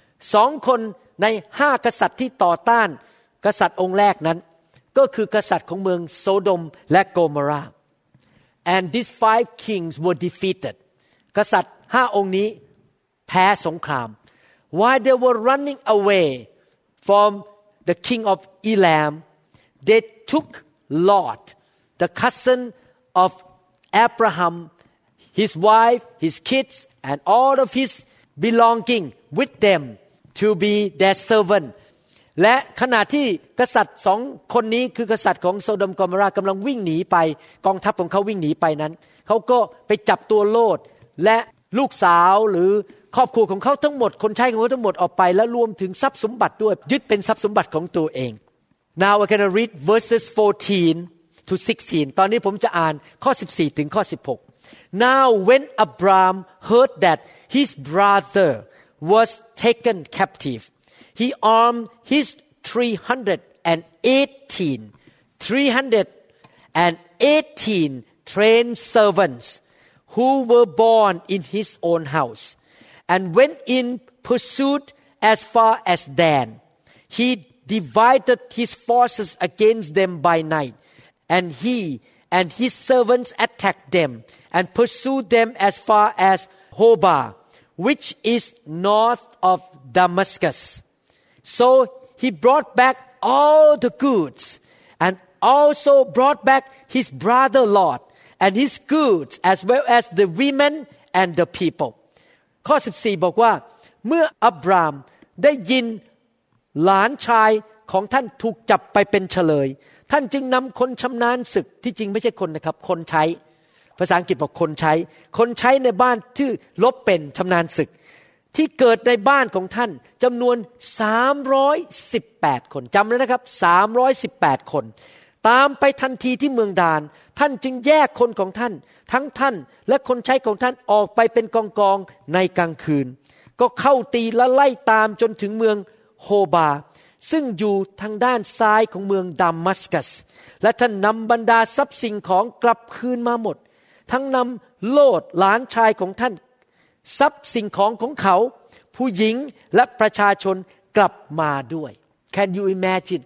2 คนใน5 กษัตริย์ที่ต่อต้านกษัตริย์องค์แรกนั้นก็คือกษัตริย์ของเมืองโซโดมและโกโมรา and these 5 kings were defeated กษัตริย์5 องค์นี้แพ้สงคราม while they were running away from the king of Elam they took Lot the cousin of Abraham his wife his kids and all of his belonging with them to be their servant และขณะที่กษัตริย์2 คนนี้คือกษัตริย์ของโซโดมกอโมรากำลังวิ่งหนีไปกองทัพของเขาวิ่งหนีไปนั้นเขาก็ไปจับตัวโลดและลูกสาวหรือครอบครัวของเขาทั้งหมดคนใช้ของเขาทั้งหมดออกไปและรวมถึงทรัพย์สมบัติด้วยยึดเป็นทรัพย์สมบัติของตัวเอง Now we're going to read verses 14 to 16 ตอนนี้ผมจะอ่านข้อ14ถึงข้อ16 Now when Abram heard that his brother was taken captive he armed his 318 trained servants who were born in his own house and went in pursuit as far as Dan. He divided his forces against them by night, and he and his servants attacked them and pursued them as far as Hobah, which is north of Damascus. So he brought back all the goods and also brought back his brother Lot and his goods as well as the women and the people ข้อ14บอกว่าเมื่ออับรามได้ยินหลานชายของท่านถูกจับไปเป็นเฉลยท่านจึงนำคนชำนาญศึกที่จริงไม่ใช่คนนะครับคนใช้ภาษาอังกฤษบอกคนใช้ในบ้านที่รบเป็นชำนาญศึกที่เกิดในบ้านของท่านจำนวน318คนจำเลยนะครับ318คนตามไปทันทีที่เมืองดานท่านจึงแยกคนของท่านทั้งท่านและคนใช้ของท่านออกไปเป็นกองๆในกลางคืนก็เข้าตีและไล่ตามจนถึงเมืองโฮบาซึ่งอยู่ทางด้านซ้ายของเมืองดามัสกัสและท่านนำบรรดาทรัพย์สิ่งของกลับคืนมาหมดทั้งนำโลดหลานชายของท่านทรัพย์สิ่งของของเขาผู้หญิงและประชาชนกลับมาด้วย Can you imagine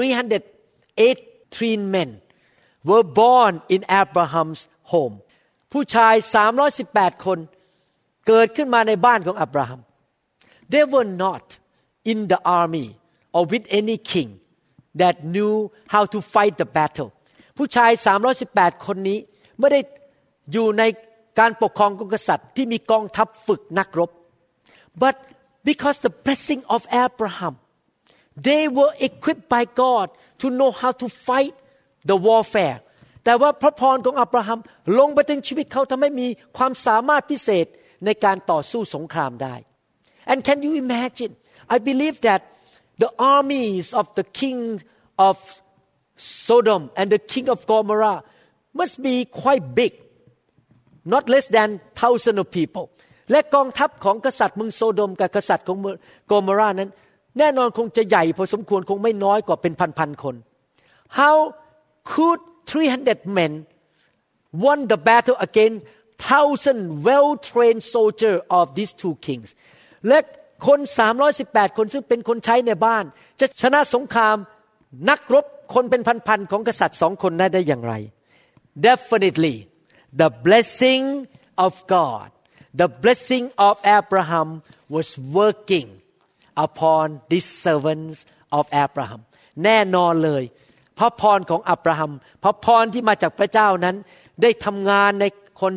318 men were born in Abraham's home ผู้ชาย318คนเกิดขึ้นมาในบ้านของอับราฮัม They were not in the army or with any king that knew how to fight the battle ผู้ชาย318คนนี้ไม่ได้อยู่ในการปกครองของกษัตริย์ที่มีกองทัพฝึกนักรบ but because the blessing of Abraham they were equipped by God to know how to fight the warfare แต่ว่าพระพรของอับราฮัมลงไปถึงชีวิตเขาทำให้มีความสามารถพิเศษในการต่อสู้สงครามได้ and can you imagine I believe that the armies of the king of Sodom and the king of Gomorrah must be quite big not less than thousands of people และกองทัพของกษัตริย์เมืองโซโดมกับกษัตริย์ของเมืองโกโมรานั้นแน่นอนคงจะใหญ่พอสมควรคงไม่น้อยกว่าเป็นพันๆคน How could 300 men won the battle against 1,000 well-trained soldiers of these two kings และคน318คนซึ่งเป็นคนใช้ในบ้านจะชนะสงครามนักรบคนเป็นพันๆของกษัตริย์2คนนั้นได้อย่างไร Definitely the blessing of God the blessing of Abraham was working upon these servants of Abraham แน่นอนเลยพระพรของอับราฮัมพระพรที่มาจากพระเจ้านั้นได้ทำงานในคน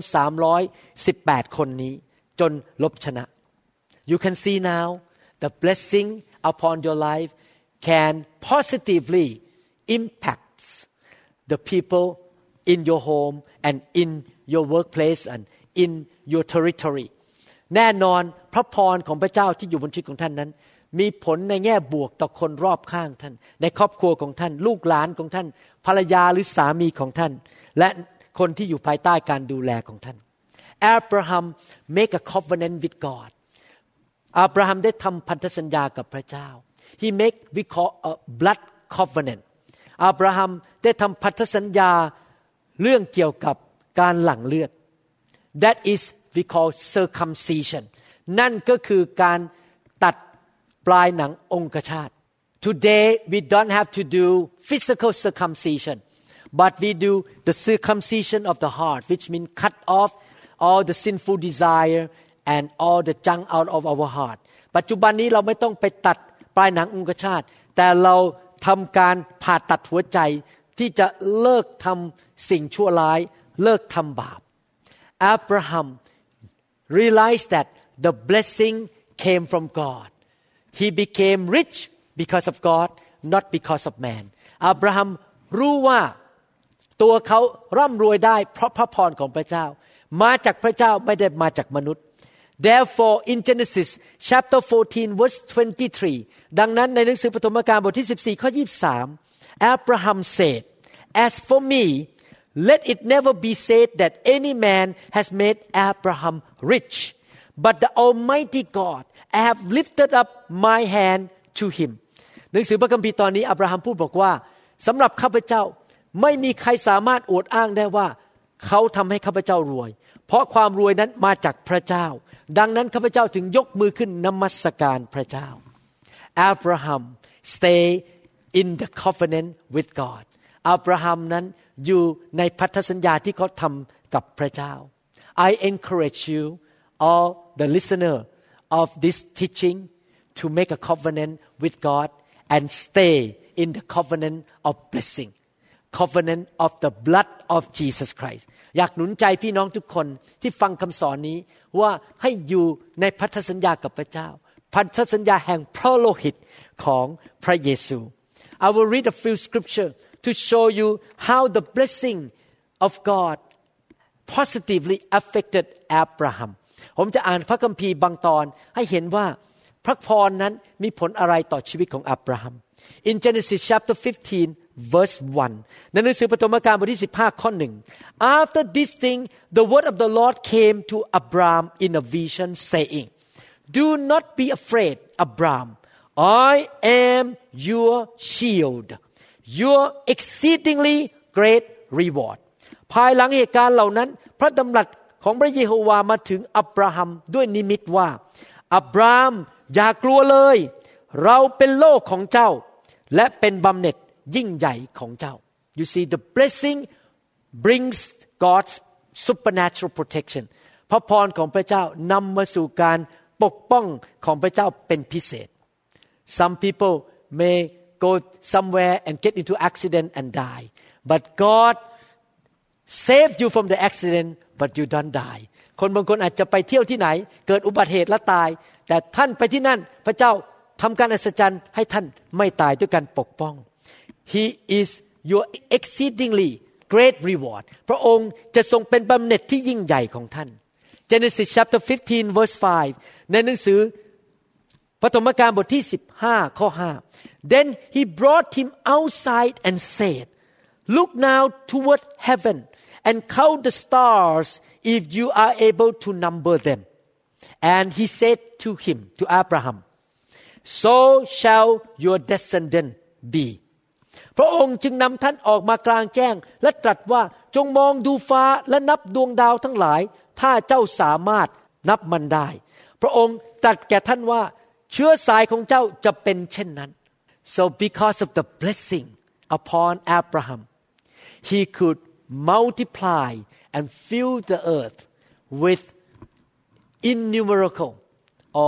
318คนนี้จนลบชนะ You can see now the blessing upon your life can positively impact the people in your home and in your workplace and in your territory แน่นอนพระพรของพระเจ้าที่อยู่บนชีวิตของท่านนั้นมีผลในแง่บวกต่อคนรอบข้างท่านในครอบครัวของท่านลูกหลานของท่านภรรยาหรือสามีของท่านและคนที่อยู่ภายใต้การดูแลของท่าน Abraham make a covenant with God อับราฮัมได้ทำพันธสัญญากับพระเจ้า He make we call a blood covenant อับราฮัมได้ทำพันธสัญญาเรื่องเกี่ยวกับการหลั่งเลือด That is we call circumcision นั่นก็คือการตัดปลายหนังองคชาต Today we don't have to do physical circumcision but we do the circumcision of the heart which means cut off all the sinful desire and all the junk out of our heart ปัจจุบันนี้เราไม่ต้องไปตัดปลายหนังองคชาตแต่เราทำการผ่าตัดหัวใจที่จะเลิกทำสิ่งชั่วร้ายเลิกทำบาป Abraham realized that the blessing came from God He became rich because of God not because of man อับราฮัมรู้ว่าตัวเขาร่ำรวยได้เพราะพระพรของพระเจ้ามาจากพระเจ้าไม่ได้มาจากมนุษย์ Therefore in Genesis chapter 14 verse 23 ดังนั้นในหนังสือปฐมกาลบทที่14ข้อ23 Abraham said As for me let it never be said that any man has made Abraham rich but the Almighty God I have lifted up my hand to him หนังสือพระคัมภีร์ตอนนี้อับราฮัมพูดบอกว่าสำหรับข้าพเจ้าไม่มีใครสามารถอวดอ้างได้ว่าเขาทำให้ข้าพเจ้ารวยเพราะความรวยนั้นมาจากพระเจ้าดังนั้นข้าพเจ้าถึงยกมือขึ้นนมัสการพระเจ้า Abraham stay in the covenant with God อับราฮัมนั้นอยู่ในพันธสัญญาที่เขาทำกับพระเจ้า I encourage you all the listener of this teaching to make a covenant with God and stay in the covenant of blessing covenant of the blood of Jesus Christ อยากหนุนใจพี่น้องทุกคนที่ฟังคำสอนนี้ว่าให้อยู่ในพันธสัญญากับพระเจ้าพันธสัญญาแห่งพระโลหิตของพระเยซู I will read a few scripture to show you how the blessing of God positively affected Abraham ผมจะอ่านพระคัมภีร์บางตอนให้เห็นว่าพระพรนั้นมีผลอะไรต่อชีวิตของอับราฮัม In Genesis chapter 15 verse 1 ในหนังสือปฐมกาลบทที่15ข้อ1 After this thing the word of the Lord came to Abraham in a vision saying Do not be afraid Abraham I am your shield your exceedingly great reward ภายหลังเหตุการณ์เหล่านั้นพระดำรัสของพระเยโฮวามาถึงอับราฮัมด้วยนิมิตว่าอับราฮัมอย่ากลัวเลยเราเป็นโล่ของเจ้าและเป็นบำเหน็จยิ่งใหญ่ของเจ้า You see the blessing brings God's supernatural protection พระพรของพระเจ้านำมาสู่การปกป้องของพระเจ้าเป็นพิเศษ Some people may go somewhere and get into accident and die but God saved you from the accident but you don't die คนบางคนอาจจะไปเที่ยวที่ไหนเกิดอุบัติเหตุและตายแต่ท่านไปที่นั่นพระเจ้าทำการอัศจรรย์ให้ท่านไม่ตายด้วยการปกป้อง He is your exceedingly great reward พระองค์จะทรงเป็นบำเหน็จที่ยิ่งใหญ่ของท่าน Genesis chapter 15 verse 5 ในหนังสือปฐมกาลบทที่15ข้อ5 Then he brought him outside and said Look now toward heaven and count the stars if you are able to number them And he said to him to Abraham So shall your descendant be พระองค์จึงนำท่านออกมากลางแจ้งและตรัสว่าจงมองดูฟ้าและนับดวงดาวทั้งหลายถ้าเจ้าสามารถนับมันได้พระองค์ตรัสแก่ท่านว่าเชื้อสายของเจ้าจะเป็นเช่นนั้น So because of the blessing upon Abraham he could multiply and fill the earth with innumerable or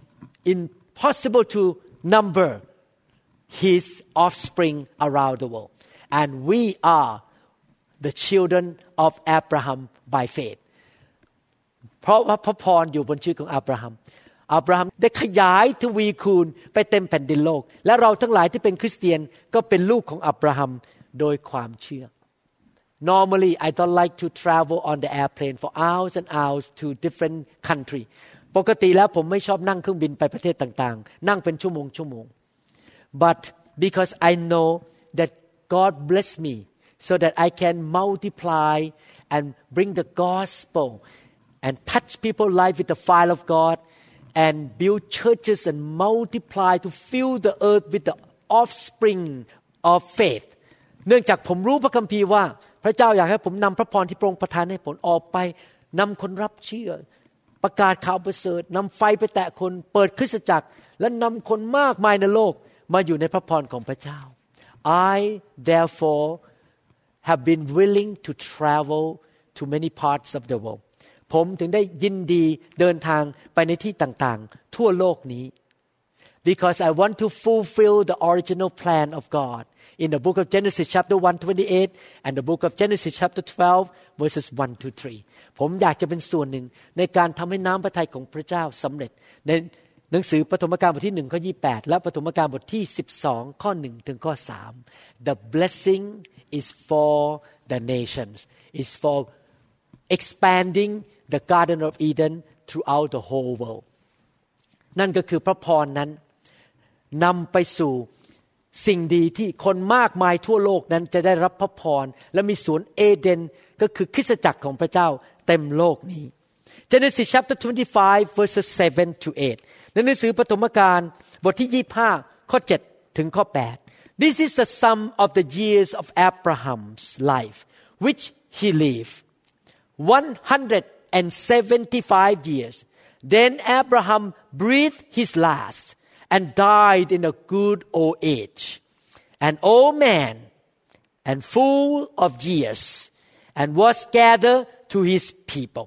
impossible to number his offspring around the world and we are the children of Abraham by faith เพราะว่าพระพรอยู่บนชีวิตของอับราฮัมได้ขยายทวีคูณไปเต็มแผ่นดินโลกและเราทั้งหลายที่เป็นคริสเตียนก็เป็นลูกของอับราฮัมโดยความเชื่อ Normally I don't like to travel on the airplane for hours and hours to different country ปกติแล้วผมไม่ชอบนั่งเครื่องบินไปประเทศต่างๆนั่งเป็นชั่วโมง But because I know that God bless me so that I can multiply and bring the gospel and touch people's life with the fire of God and build churches and multiply to fill the earth with the offspring of faith เนื่องจากผมรู้พระคัมภีร์ว่าพระเจ้าอยากให้ผมนำพระพรที่พระองค์ประทานให้ผมออกไปนำคนรับเชื่อประกาศข่าวประเสริฐนำไฟไปแตะคนเปิดคริสตจักรและนำคนมากมายในโลกมาอยู่ในพระพรของพระเจ้า I therefore have been willing to travel to many parts of the world ผมถึงได้ยินดีเดินทางไปในที่ต่างๆทั่วโลกนี้ because I want to fulfill the original plan of God in the book of Genesis chapter 1:28 and the book of Genesis chapter 12 verses 1 to 3 ผมอยากจะเป็นส่วนหนึ่งในการทำให้น้ำพระทัยของพระเจ้าสำเร็จในหนังสือปฐมกาลบทที่1ข้อ28และปฐมกาลบทที่12ข้อ1ถึงข้อ3 The blessing is for the nations is for expanding the Garden of Eden throughout the whole world นั่นก็คือพระพรนั้นนำไปสู่สิ่งดีที่คนมากมายทั่วโลกนั้นจะได้รับพระพรและมีสวนเอเดนก็คือคริสตจักรของพระเจ้าเต็มโลกนี้ Genesis chapter 25 verses 7 to 8 ในหนังสือปฐมกาลบทที่25ข้อ7ถึงข้อ8 This is the sum of the years of Abraham's life which he lived 175 years Then Abraham breathed his last and died in a good old age an old man and full of years and was gathered to his people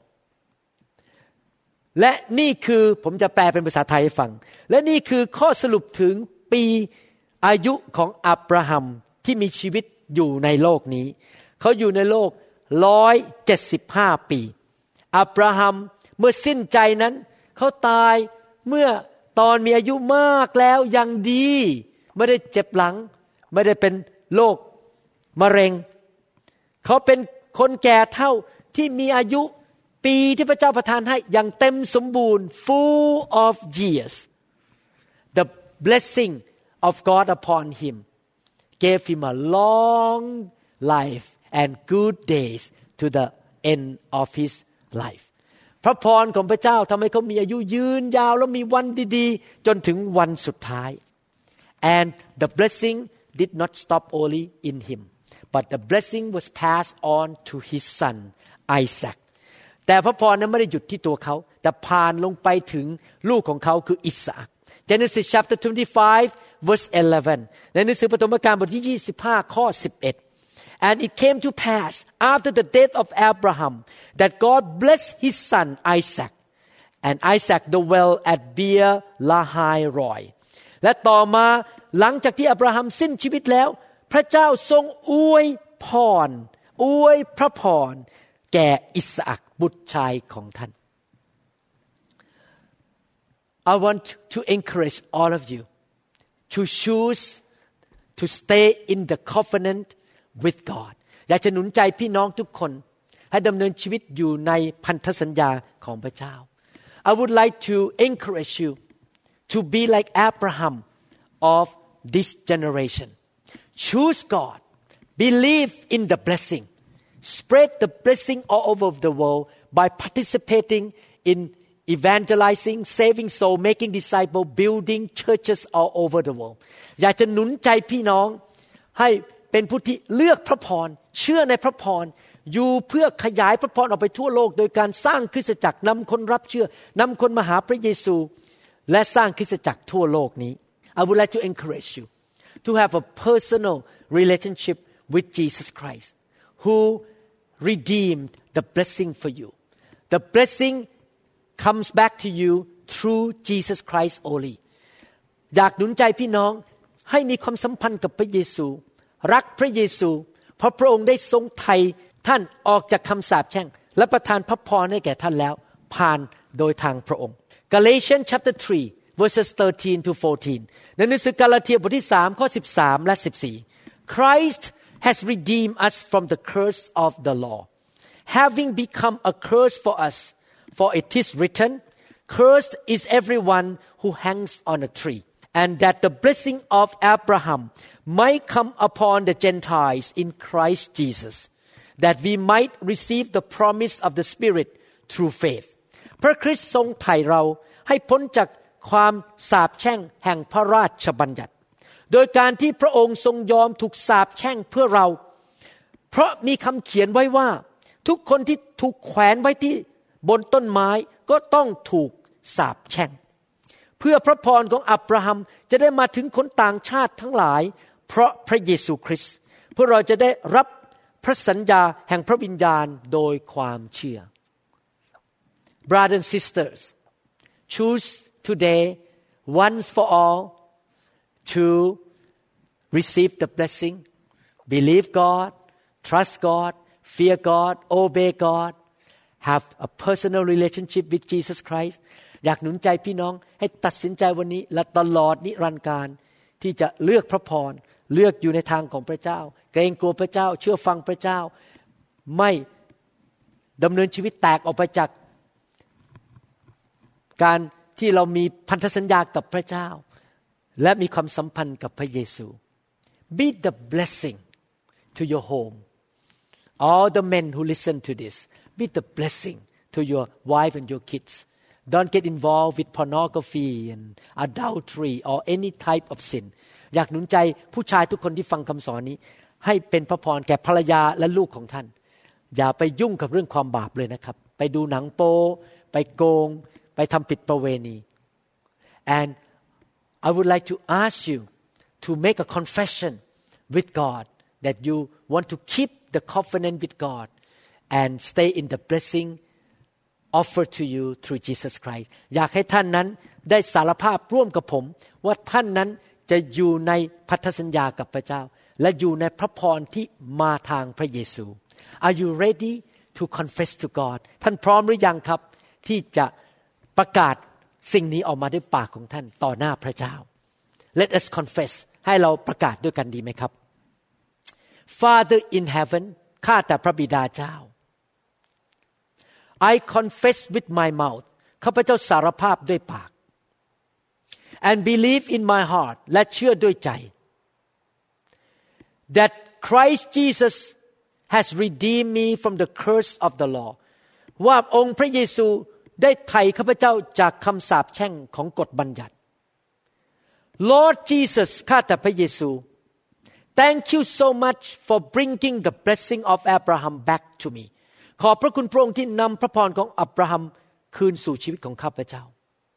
และนี่คือผมจะแปลเป็นภาษาไทยให้ฟังและนี่คือข้อสรุปถึงปีอายุของอับราฮัมที่มีชีวิตอยู่ในโลกนี้เขาอยู่ในโลก175 ปีอับราฮัมเมื่อสิ้นใจนั้นเขาตายเมื่อตอนมีอายุมากแล้วยังดีไม่ได้เจ็บหลังไม่ได้เป็นโรคมะเร็งเขาเป็นคนแก่เฒ่าที่มีอายุปีที่พระเจ้าประทานให้อย่างเต็มสมบูรณ์ full of years the blessing of God upon him gave him a long life and good days to the end of his life พระพรของพระเจ้าทำให้เขามีอายุยืนยาวและมีวันดีๆจนถึงวันสุดท้าย and the blessing did not stop only in him but the blessing was passed on to his son Isaac แต่พระพรนั้นไม่ได้หยุดที่ตัวเขาแต่ผ่านลงไปถึงลูกของเขาคืออิสอัค Genesis chapter 25 verse 11 ในหนังสือปฐมกาลบทที่25ข้อ11 and it came to pass after the death of Abraham that God blessed his son Isaac and Isaac dwelt at Beer Lahai Roi และต่อมาหลังจากที่อับราฮัมสิ้นชีวิตแล้วพระเจ้าทรงอวยพรอวยพระพรแก่อิสอัคบุตรชายของท่าน I want to encourage all of you to choose to stay in the covenant with God อยากจะหนุนใจพี่น้องทุกคนให้ดำเนินชีวิตอยู่ในพันธสัญญาของพระเจ้า I would like to encourage you to be like Abraham of this generation choose God believe in the blessing spread the blessing all over the world by participating in evangelizing saving soul making disciple building churches all over the world อยากจะหนุนใจพี่น้องให้เป็นผู้ที่เลือกพระพรเชื่อในพระพรอยู่เพื่อขยายพระพรออกไปทั่วโลกโดยการสร้างคริสตจักรนำคนรับเชื่อนำคนมาหาพระเยซูและสร้างคริสตจักรทั่วโลกนี้ I would like to encourage you to have a personal relationship with Jesus Christ who redeemed the blessing for you the blessing comes back to you through Jesus Christ only อยากหนุนใจพี่น้องให้มีความสัมพันธ์กับพระเยซูรักพระเยซูเพราะพระองค์ได้ทรงไถ่ท่านออกจากคำสาปแช่งและประทานพระพรให้แก่ท่านแล้วผ่านโดยทางพระองค์ Galatians chapter 3 verses 13 to 14 ในหนังสือกาลาเทียบทที่3ข้อ13และ14 Christ has redeemed us from the curse of the law having become a curse for us for it is written cursed is everyone who hangs on a tree and that the blessing of Abraham might come upon the Gentiles in Christ Jesus that we might receive the promise of the Spirit through faith พระคริสต์ทรงไถ่เราให้พ้นจากความสาปแช่งแห่งพระราชบัญญัติโดยการที่พระองค์ทรงยอมถูกสาปแช่งเพื่อเราเพราะมีคำเขียนไว้ว่าทุกคนที่ถูกแขวนไว้ที่บนต้นไม้ก็ต้องถูกสาปแช่งเพื่อพระพรของอับราฮัมจะได้มาถึงคนต่างชาติทั้งหลายเพราะพระเยซูคริสต์เพื่อเราจะได้รับพระสัญญาแห่งพระวิญญาณโดยความเชื่อ Brothers and sisters choose today once for all to receive the blessing believe God trust God fear God obey God have a personal relationship with Jesus Christ อยากหนุนใจพี่น้องให้ตัดสินใจวันนี้และตลอดนิรันดร์การที่จะเลือกพระพรเลือกอยู่ในทางของพระเจ้าเกรงกลัวพระเจ้าเชื่อฟังพระเจ้าไม่ดำเนินชีวิตแตกออกไปจากการที่เรามีพันธสัญญากับพระเจ้าและมีความสัมพันธ์กับพระเยซู Be the blessing to your home all the men who listen to this be the blessing to your wife and your kids don't get involved with pornography and adultery or any type of sin อยากหนุนใจผู้ชายทุกคนที่ฟังคำสอนนี้ให้เป็นพระพรแก่ภรรยาและลูกของท่านอย่าไปยุ่งกับเรื่องความบาปเลยนะครับไปดูหนังโป๊ไปโกงไปทำผิดประเวณี and I would like to ask you to make a confession with God that you want to keep the covenant with God and stay in the blessing offered to you through Jesus Christ อยากให้ท่านนั้นได้สารภาพร่วมกับผมว่าท่านนั้นจะอยู่ในพันธสัญญากับพระเจ้าและอยู่ในพระพรที่มาทางพระเยซู Are you ready to confess to God ท่านพร้อมหรือยังครับที่จะประกาศสิ่งนี้ออกมาด้วยปากของท่านต่อหน้าพระเจ้า Let us confess ให้เราประกาศด้วยกันดีไหมครับ Father in heaven ข้าแต่พระบิดาเจ้า I confess with my mouth ข้าพเจ้าสารภาพด้วยปาก and believe in my heart และเชื่อด้วยใจ that Christ Jesus has redeemed me from the curse of the law ว่าองค์พระเยซูได้ไถ่ข้าพเจ้าจากคำสาปแช่งของกฎบัญญัติ Lord Jesus ข้าแต่พระเยซู Thank you so much for bringing the blessing of Abraham back to me ขอบพระคุณพระองค์ที่นำพระพรของอับราฮัมคืนสู่ชีวิตของข้าพเจ้า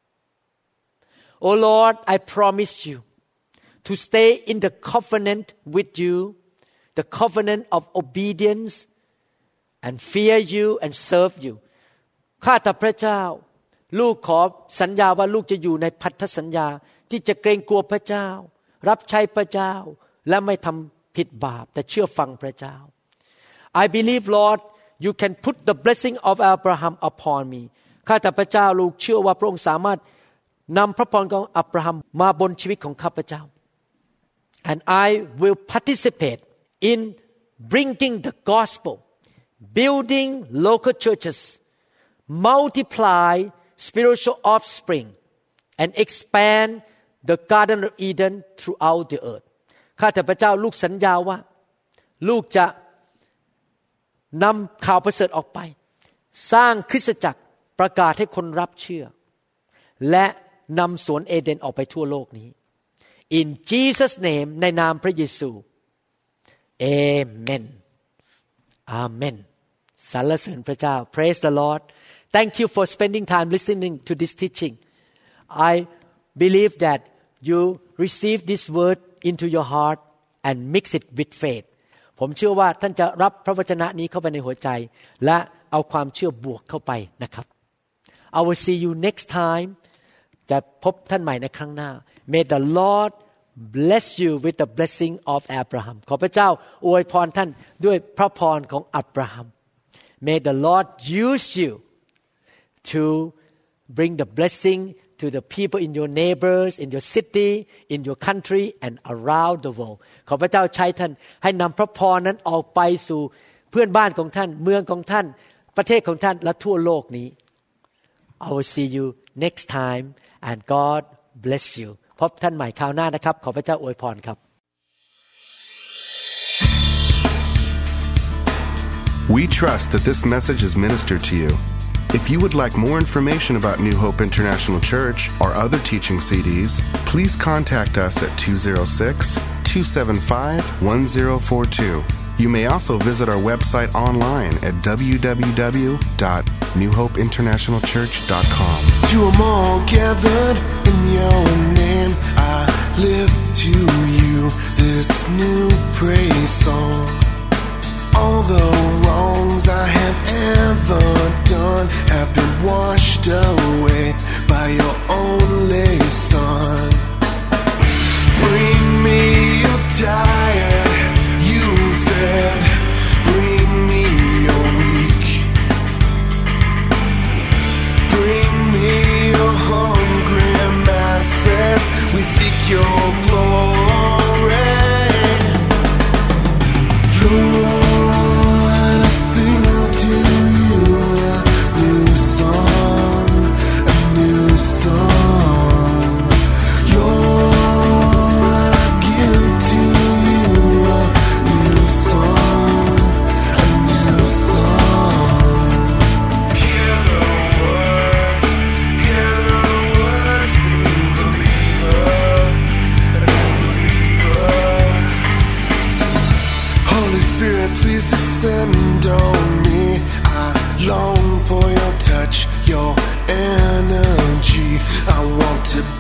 Oh Lord I promise you to stay in the covenant with you the covenant of obedience and fear you and serve you ข้าแต่พระเจ้าลูกขอสัญญาว่าลูกจะอยู่ในพันธสัญญาที่จะเกรงกลัวพระเจ้ารับใช้พระเจ้าและไม่ทำผิดบาปแต่เชื่อฟังพระเจ้า I believe Lord you can put the blessing of Abraham upon me ข้าแต่พระเจ้าลูกเชื่อว่าพระองค์สามารถนำพระพรของอับราฮัมมาบนชีวิตของข้าพเจ้า and I will participate in bringing the gospel building local churches multiply spiritual offspring and expand the Garden of Eden throughout the earth ข้าแต่พระเจ้าลูกสัญญาว่าลูกจะนำข่าวประเสริฐออกไปสร้างคริสตจักรประกาศให้คนรับเชื่อและนำสวนเอเดนออกไปทั่วโลกนี้ In Jesus name ในนามพระเยซู Amen Amen สรรเสริญพระเจ้า Praise the Lord Thank you for spending time listening to this teaching. I believe that you receive this word into your heart and mix it with faith. ผมเชื่อว่าท่านจะรับพระวจนะนี้เข้าไปในหัวใจและเอาความเชื่อบวกเข้าไปนะครับ I will see you next time. จะพบท่านใหม่ในครั้งหน้า May the Lord bless you with the blessing of Abraham. ขอพระเจ้าอวยพรท่านด้วยพระพรของอับราฮัม May the Lord use you to bring the blessing to the people in your neighbors, in your city, in your country and around the world. ขอพระเจ้าใช้ท่านให้นำพระพรนั้นออกไปสู่เพื่อนบ้านของท่านเมืองของท่านประเทศของท่านและทั่วโลกนี้ I will see you next time and God bless you. พบท่านใหม่คราวหน้านะครับขอพระเจ้าอวยพรครับ We trust that this message is ministered to you.If you would like more information about New Hope International Church or other teaching CDs, please contact us at 206-275-1042. You may also visit our website online at www.newhopeinternationalchurch.com. To them all gathered in your name, I lift to you this new praise song.All the wrongs I have ever done have been washed away by your only Son. Bring me your tired, you said. Bring me your weak. Bring me your hungry masses. We seek your glory.Spirit, please descend on me. I long for your touch, your energy. I want to